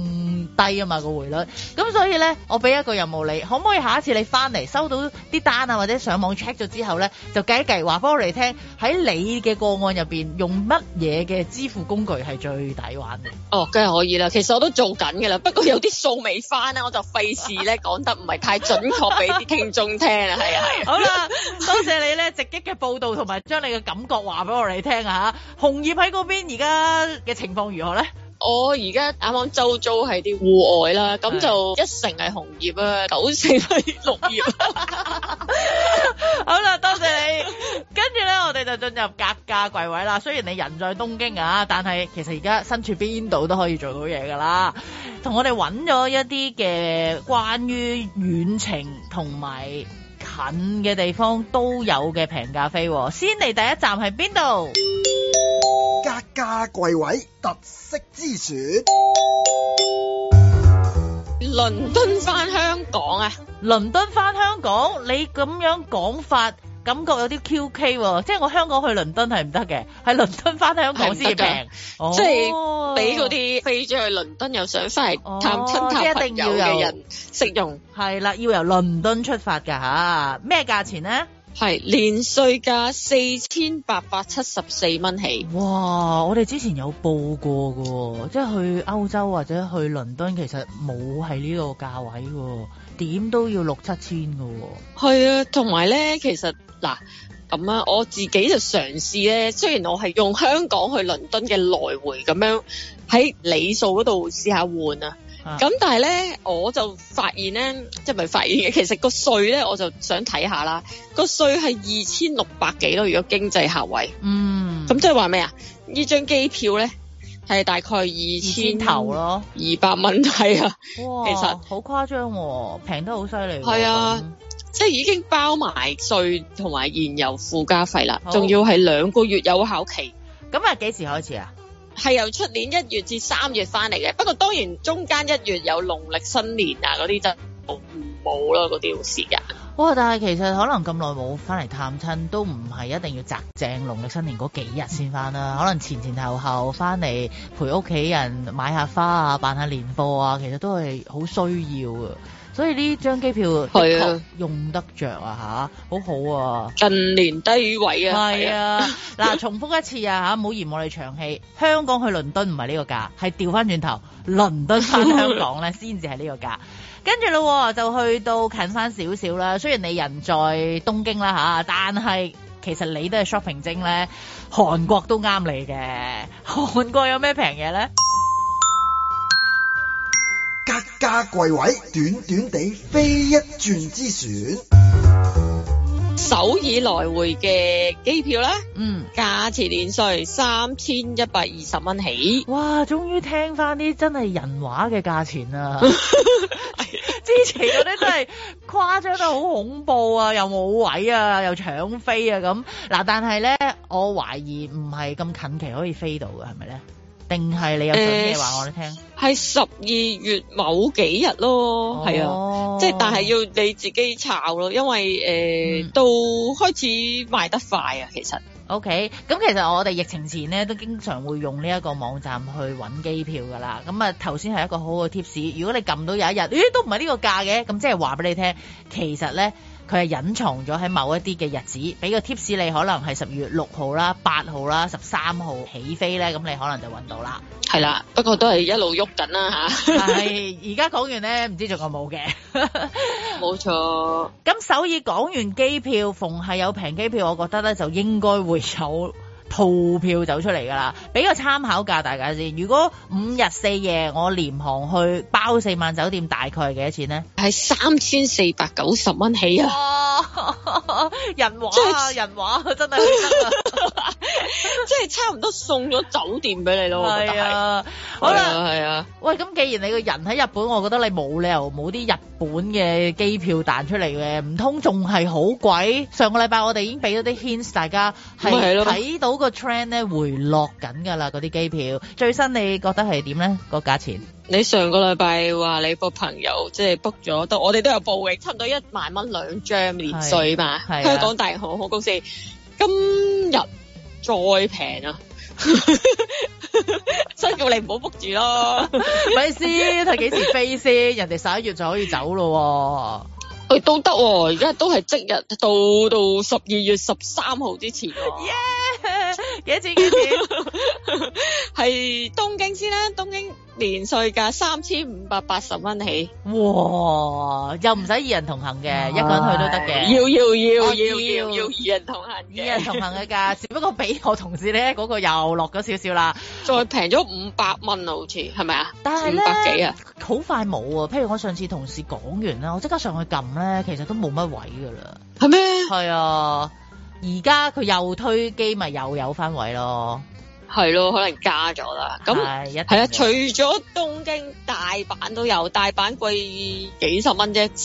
低啊嘛個匯率。咁所以咧，我俾一個任務你，可唔可以下一次你翻嚟收到啲單啊，或者上網 check 咗之後咧，就計一計話俾我哋聽，喺你嘅個案入邊用乜嘢嘅支付工具係最抵玩嘅？ 哦，梗係可以啦。其實我都做緊㗎啦，不過有啲數未翻咧，我就費事咧講得唔係太準確俾啲聽眾聽啊。係啊係啊。好啦， 多謝你咧直擊嘅報導同埋將你嘅感覺話俾我哋聽啊嚇。紅葉喺嗰邊而家嘅情況如何咧？ 我而家啱啱周遭係啲戶外啦，咁就1成係紅葉啊，9成係綠葉。 好啦，多謝你。跟住咧，我哋就進入格價櫃位啦。雖然你人在東京啊，但係其實而家身處邊度都可以做到嘢噶啦。同我哋揾咗一啲嘅關於遠程同埋近嘅地方都有嘅平價飛。先嚟第一站係邊度？ 格價櫃位特色之選， 倫敦返香港啊！ 倫敦返香港，你咁樣講法，感覺有啲 QK 喎。即係我香港去倫敦係唔得嘅，係倫敦返香港先至平。 即係俾嗰啲飛咗去倫敦又想翻嚟探親探朋友嘅人適用。 係啦，要由倫敦出發㗎嚇。咩價錢呢？ 係連稅價4874蚊起。 哇！我哋之前有報過㗎，即係去歐洲或者去倫敦，其實冇係呢個價位㗎，點都要6-7千㗎。 係啊，同埋咧，其實嗱咁啊，我自己就嘗試咧，雖然我係用香港去倫敦嘅來回咁樣喺里數嗰度試下換啊。咁但係咧，我就發現咧，即係唔係發現嘅，其實個稅咧，我就想睇下啦。個稅係2600幾咯，如果經濟客位。咁即係話咩啊？呢張機票咧係大概2000頭咯，200蚊係啊。 哇， 其實好誇張喎，平得好犀利。 係啊，即係已經包埋稅同埋燃油附加費啦，仲要係2個月有效期。 咁啊，幾時開始啊？ 係由出年1月至3月翻嚟嘅，不過當然中間1月有農曆新年啊嗰啲就冇啦，嗰啲時間。 哇！但係其實可能咁耐冇翻嚟探親，都唔係一定要擇正農曆新年嗰幾日先翻啦。可能前後後翻嚟陪屋企人買下花啊，辦下年貨啊，其實都係好需要嘅。所以呢張機票的確用得着啊嚇，好好啊！ 近年低位啊， 係啊！嗱，重複一次啊嚇，唔好嫌我哋長氣。香港去倫敦唔係呢個價，係調翻轉頭，倫敦翻香港咧先至係呢個價。跟住咯，就去到近翻少少啦。雖然你人在東京啦嚇，但係其實你都係 shopping 精咧，韓國都啱你嘅。韓國有咩平嘢咧？ 格價櫃位，短短地飛一轉之選。 首爾來回嘅機票啦，價錢連稅3120蚊起。 哇！終於聽翻啲真係人話嘅價錢啊！之前嗰啲真係誇張得好恐怖啊，又冇位啊，又搶飛啊咁。嗱，但係咧，我懷疑唔係咁近期可以飛到嘅，係咪咧？定係你有準嘅話我哋聽？ 係12月某幾日咯，係啊，即係但係要你自己抄咯，因為到開始賣得快啊，其實。 OK，咁其實我哋疫情前咧都經常會用呢一個網站去揾機票噶啦。咁啊頭先係一個好好嘅 tips， 如果你撳到有一日，咦都唔係呢個價嘅，咁即係話俾你聽，其實咧佢係隱藏咗喺某一啲嘅日子，俾個 tips 你可能係12月6號啦、8號啦、13號起飛咧，咁你可能就揾到啦。 係啦，不過都係一路喐緊啦嚇。 係，而家講完咧，唔知仲有冇嘅。 冇錯。咁首爾講完機票，逢係有平機票，我覺得咧就應該會有套票走出嚟㗎啦。俾個參考價大家先。如果5日4夜我廉航去包4晚酒店，大概係幾多錢咧？ 係3490蚊起啊！ 哇，人話啊，人話真係得啊！ 即係差唔多送咗酒店俾你咯，我覺得係。 好啦， 係啊。 喂，咁既然你個人喺日本，我覺得你冇理由冇啲日本嘅機票彈出嚟嘅，唔通仲係好貴？上個禮拜我哋已經俾咗啲 hints，大家係睇到個 trend 咧回落緊㗎啦，嗰啲機票最新你覺得係點咧？個價錢？ 你上個禮拜話你個朋友即係 book 咗，我哋都有報嘅，差唔多1萬蚊2張連稅嘛。香港大型航空公司今日再平啊！ 所以叫你唔好 book 住咯。 咪先，睇幾時飛先？人哋11月就可以走咯。 都得喎，而家都係即日到12月13號之前。 幾錢？ 係東京先啦，東京年稅價3580蚊起。 哇！又唔使2人同行嘅，一個人去都得嘅。 要2人同行嘅。2 人同行嘅價，只不過俾我同事咧嗰個又落咗少少啦， 再平咗500蚊啊，好似係咪啊？ 但係咧 500幾啊， 好快冇啊！譬如我上次同事講完啦，我即刻上去撳咧，其實都冇乜位噶啦。 係咩？ 係啊。而家佢又推機，咪又有翻位咯， 係咯，可能加咗啦。咁係啊，除咗東京，大阪都有，大阪貴幾十蚊啫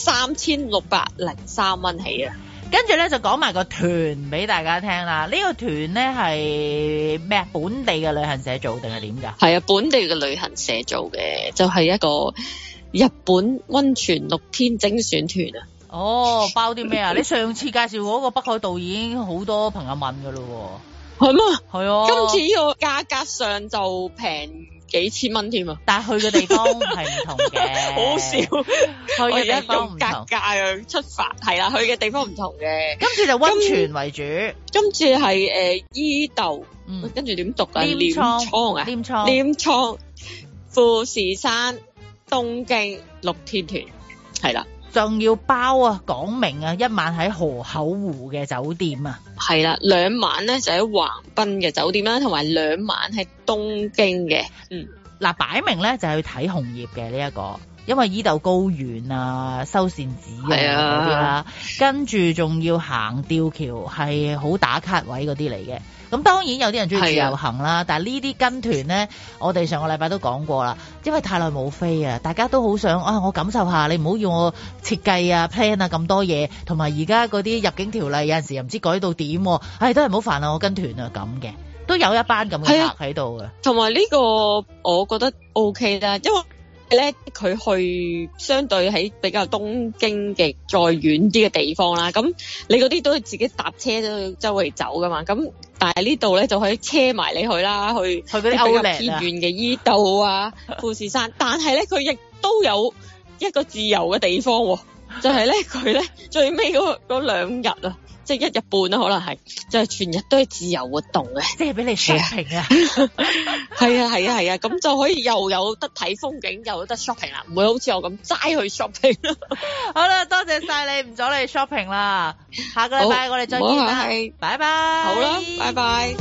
，3603蚊起啊。 跟住咧就講埋個團俾大家聽啦。呢個團咧係咩啊？本地嘅旅行社做定係點㗎？ 係啊，本地嘅旅行社做嘅，就係一個日本溫泉6天精選團啊。 哦，包啲咩啊？你上次介紹嗰個北海道已經好多朋友問噶咯喎。 係咩？ 係啊。 今次呢個價格上就平幾千蚊添啊！ 但係去嘅地方係唔同嘅。 好笑， 去嘅地方唔同。 格價出發係啦，去嘅地方唔同嘅。 今次就溫泉為主。 今次係伊豆，跟住點讀啊？鎌倉啊？鎌倉、富士山、東京6天團係啦。 仲要包啊，講明啊，1晚喺河口湖嘅酒店啊， 係啦，2晚咧就喺橫濱嘅酒店啦，同埋2晚喺東京嘅。 嗱，擺明咧就係去睇紅葉嘅呢一個，因為伊豆高原啊、修善寺啊嗰啲啦，跟住仲要行吊橋，係好打卡位嗰啲嚟嘅。咁當然有啲人中意自由行啦，但係呢啲跟團咧，我哋上個禮拜都講過啦，因為太耐冇飛啊，大家都好想啊，我感受下，你唔好要我設計啊、plan 啊咁多嘢，同埋而家嗰啲入境條例有陣時又唔知改到點，都係唔好煩啊，我跟團啊咁嘅，都有一班咁嘅客喺度嘅。同埋呢個我覺得 OK 啦，因為咧佢去相對喺比較東京嘅再遠啲嘅地方啦，咁你嗰啲都係自己搭車都周圍走噶嘛，咁但係呢度咧就可以車埋你去啦，去嗰啲比較偏遠嘅伊豆啊、富士山，但係咧佢亦都有一個自由嘅地方，就係咧佢咧最尾嗰2日啊，即係1日半啦，可能係就係全日都係自由活動嘅，即係俾你 shopping 啊，係啊，咁就可以又有得睇風景，又有得 shopping 啦，唔會好似我咁齋去 shopping 啦。 好啦，多謝晒你，唔阻你 shopping 啦，下個禮拜我哋再見啦，拜拜。 好啦，拜拜。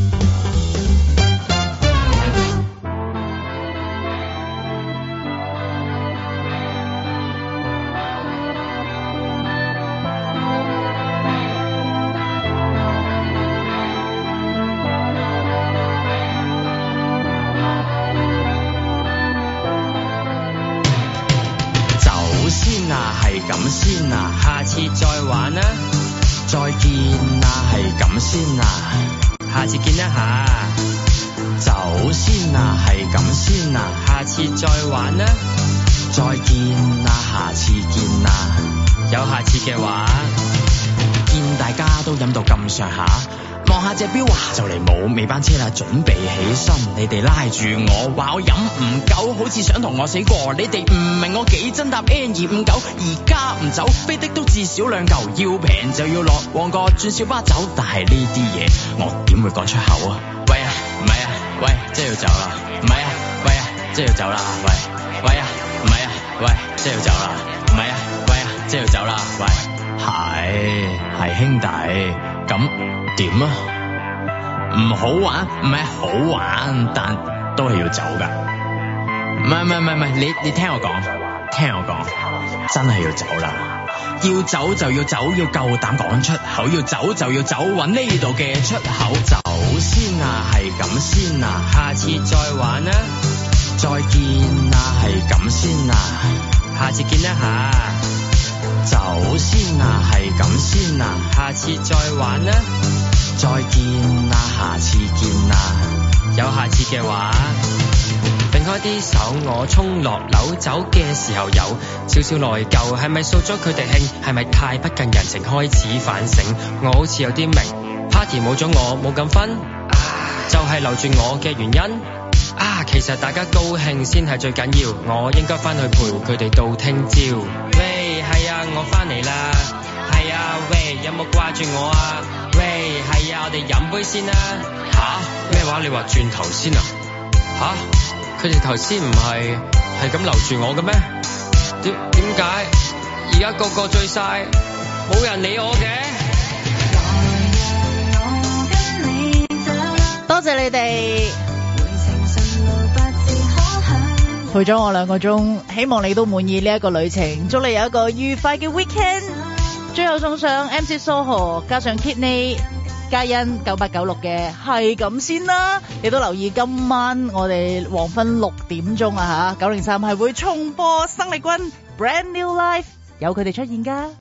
咁先啊，下次再玩啦，再見啊，係咁先啊，下次見一下，走先啊，係咁先啊，下次再玩啦，再見啊，下次見啊，有下次嘅話，見大家都飲到咁上下。望下隻錶啊，就嚟冇尾班車啦，準備起身。你哋拉住我，話我飲唔夠，好似想同我死過。你哋唔明我幾真搭 N259，而家唔走，飛的都至少2嚿，要平就要落旺角轉小巴走。但係呢啲嘢我點會講出口啊？喂啊，唔係啊，喂，即係要走啦，唔係啊，喂啊，即係要走啦，喂，喂啊，唔係啊，喂，即係要走啦，唔係啊，喂啊，即係要走啦，喂，係兄弟，咁點啊？唔好玩，唔係好玩，但都係要走噶。唔係，你聽我講，真係要走啦。要走就要走，要夠膽講出口。要走就要走，搵呢度嘅出口。走先啊，係咁先啊，下次再玩啊。再見啊，係咁先啊，下次見一下。走先啊，係咁先啊，下次再玩啊。再見啊，下次見啊，有下次嘅話，揈開啲手，我衝落樓走嘅時候有少少內疚，係咪掃咗佢哋興？係咪太不近人情？開始反省，我好似有啲明 party 冇咗我冇咁分，就係留住我嘅原因。 其實大家高興先係最緊要，我應該返去陪佢哋到聽朝。喂，係啊，我返嚟啦。係啊，喂，有冇掛住我啊？喂，係啊，我哋飲杯先啦。咩話？你話轉頭先啊？佢哋頭先唔係咁留住我嘅咩？點解而家個個醉晒，冇人理我嘅？ 多謝你哋陪咗我2個鐘，希望你都滿意呢一個旅程，祝你有一個愉快嘅 weekend。最後送上 MC Soho 加上 Kidney 嘉欣9896嘅係咁先啦。你都留意今晚我哋黃昏6點鐘啊嚇，903係會重播生力軍 Brand New Life，有佢哋出現㗎。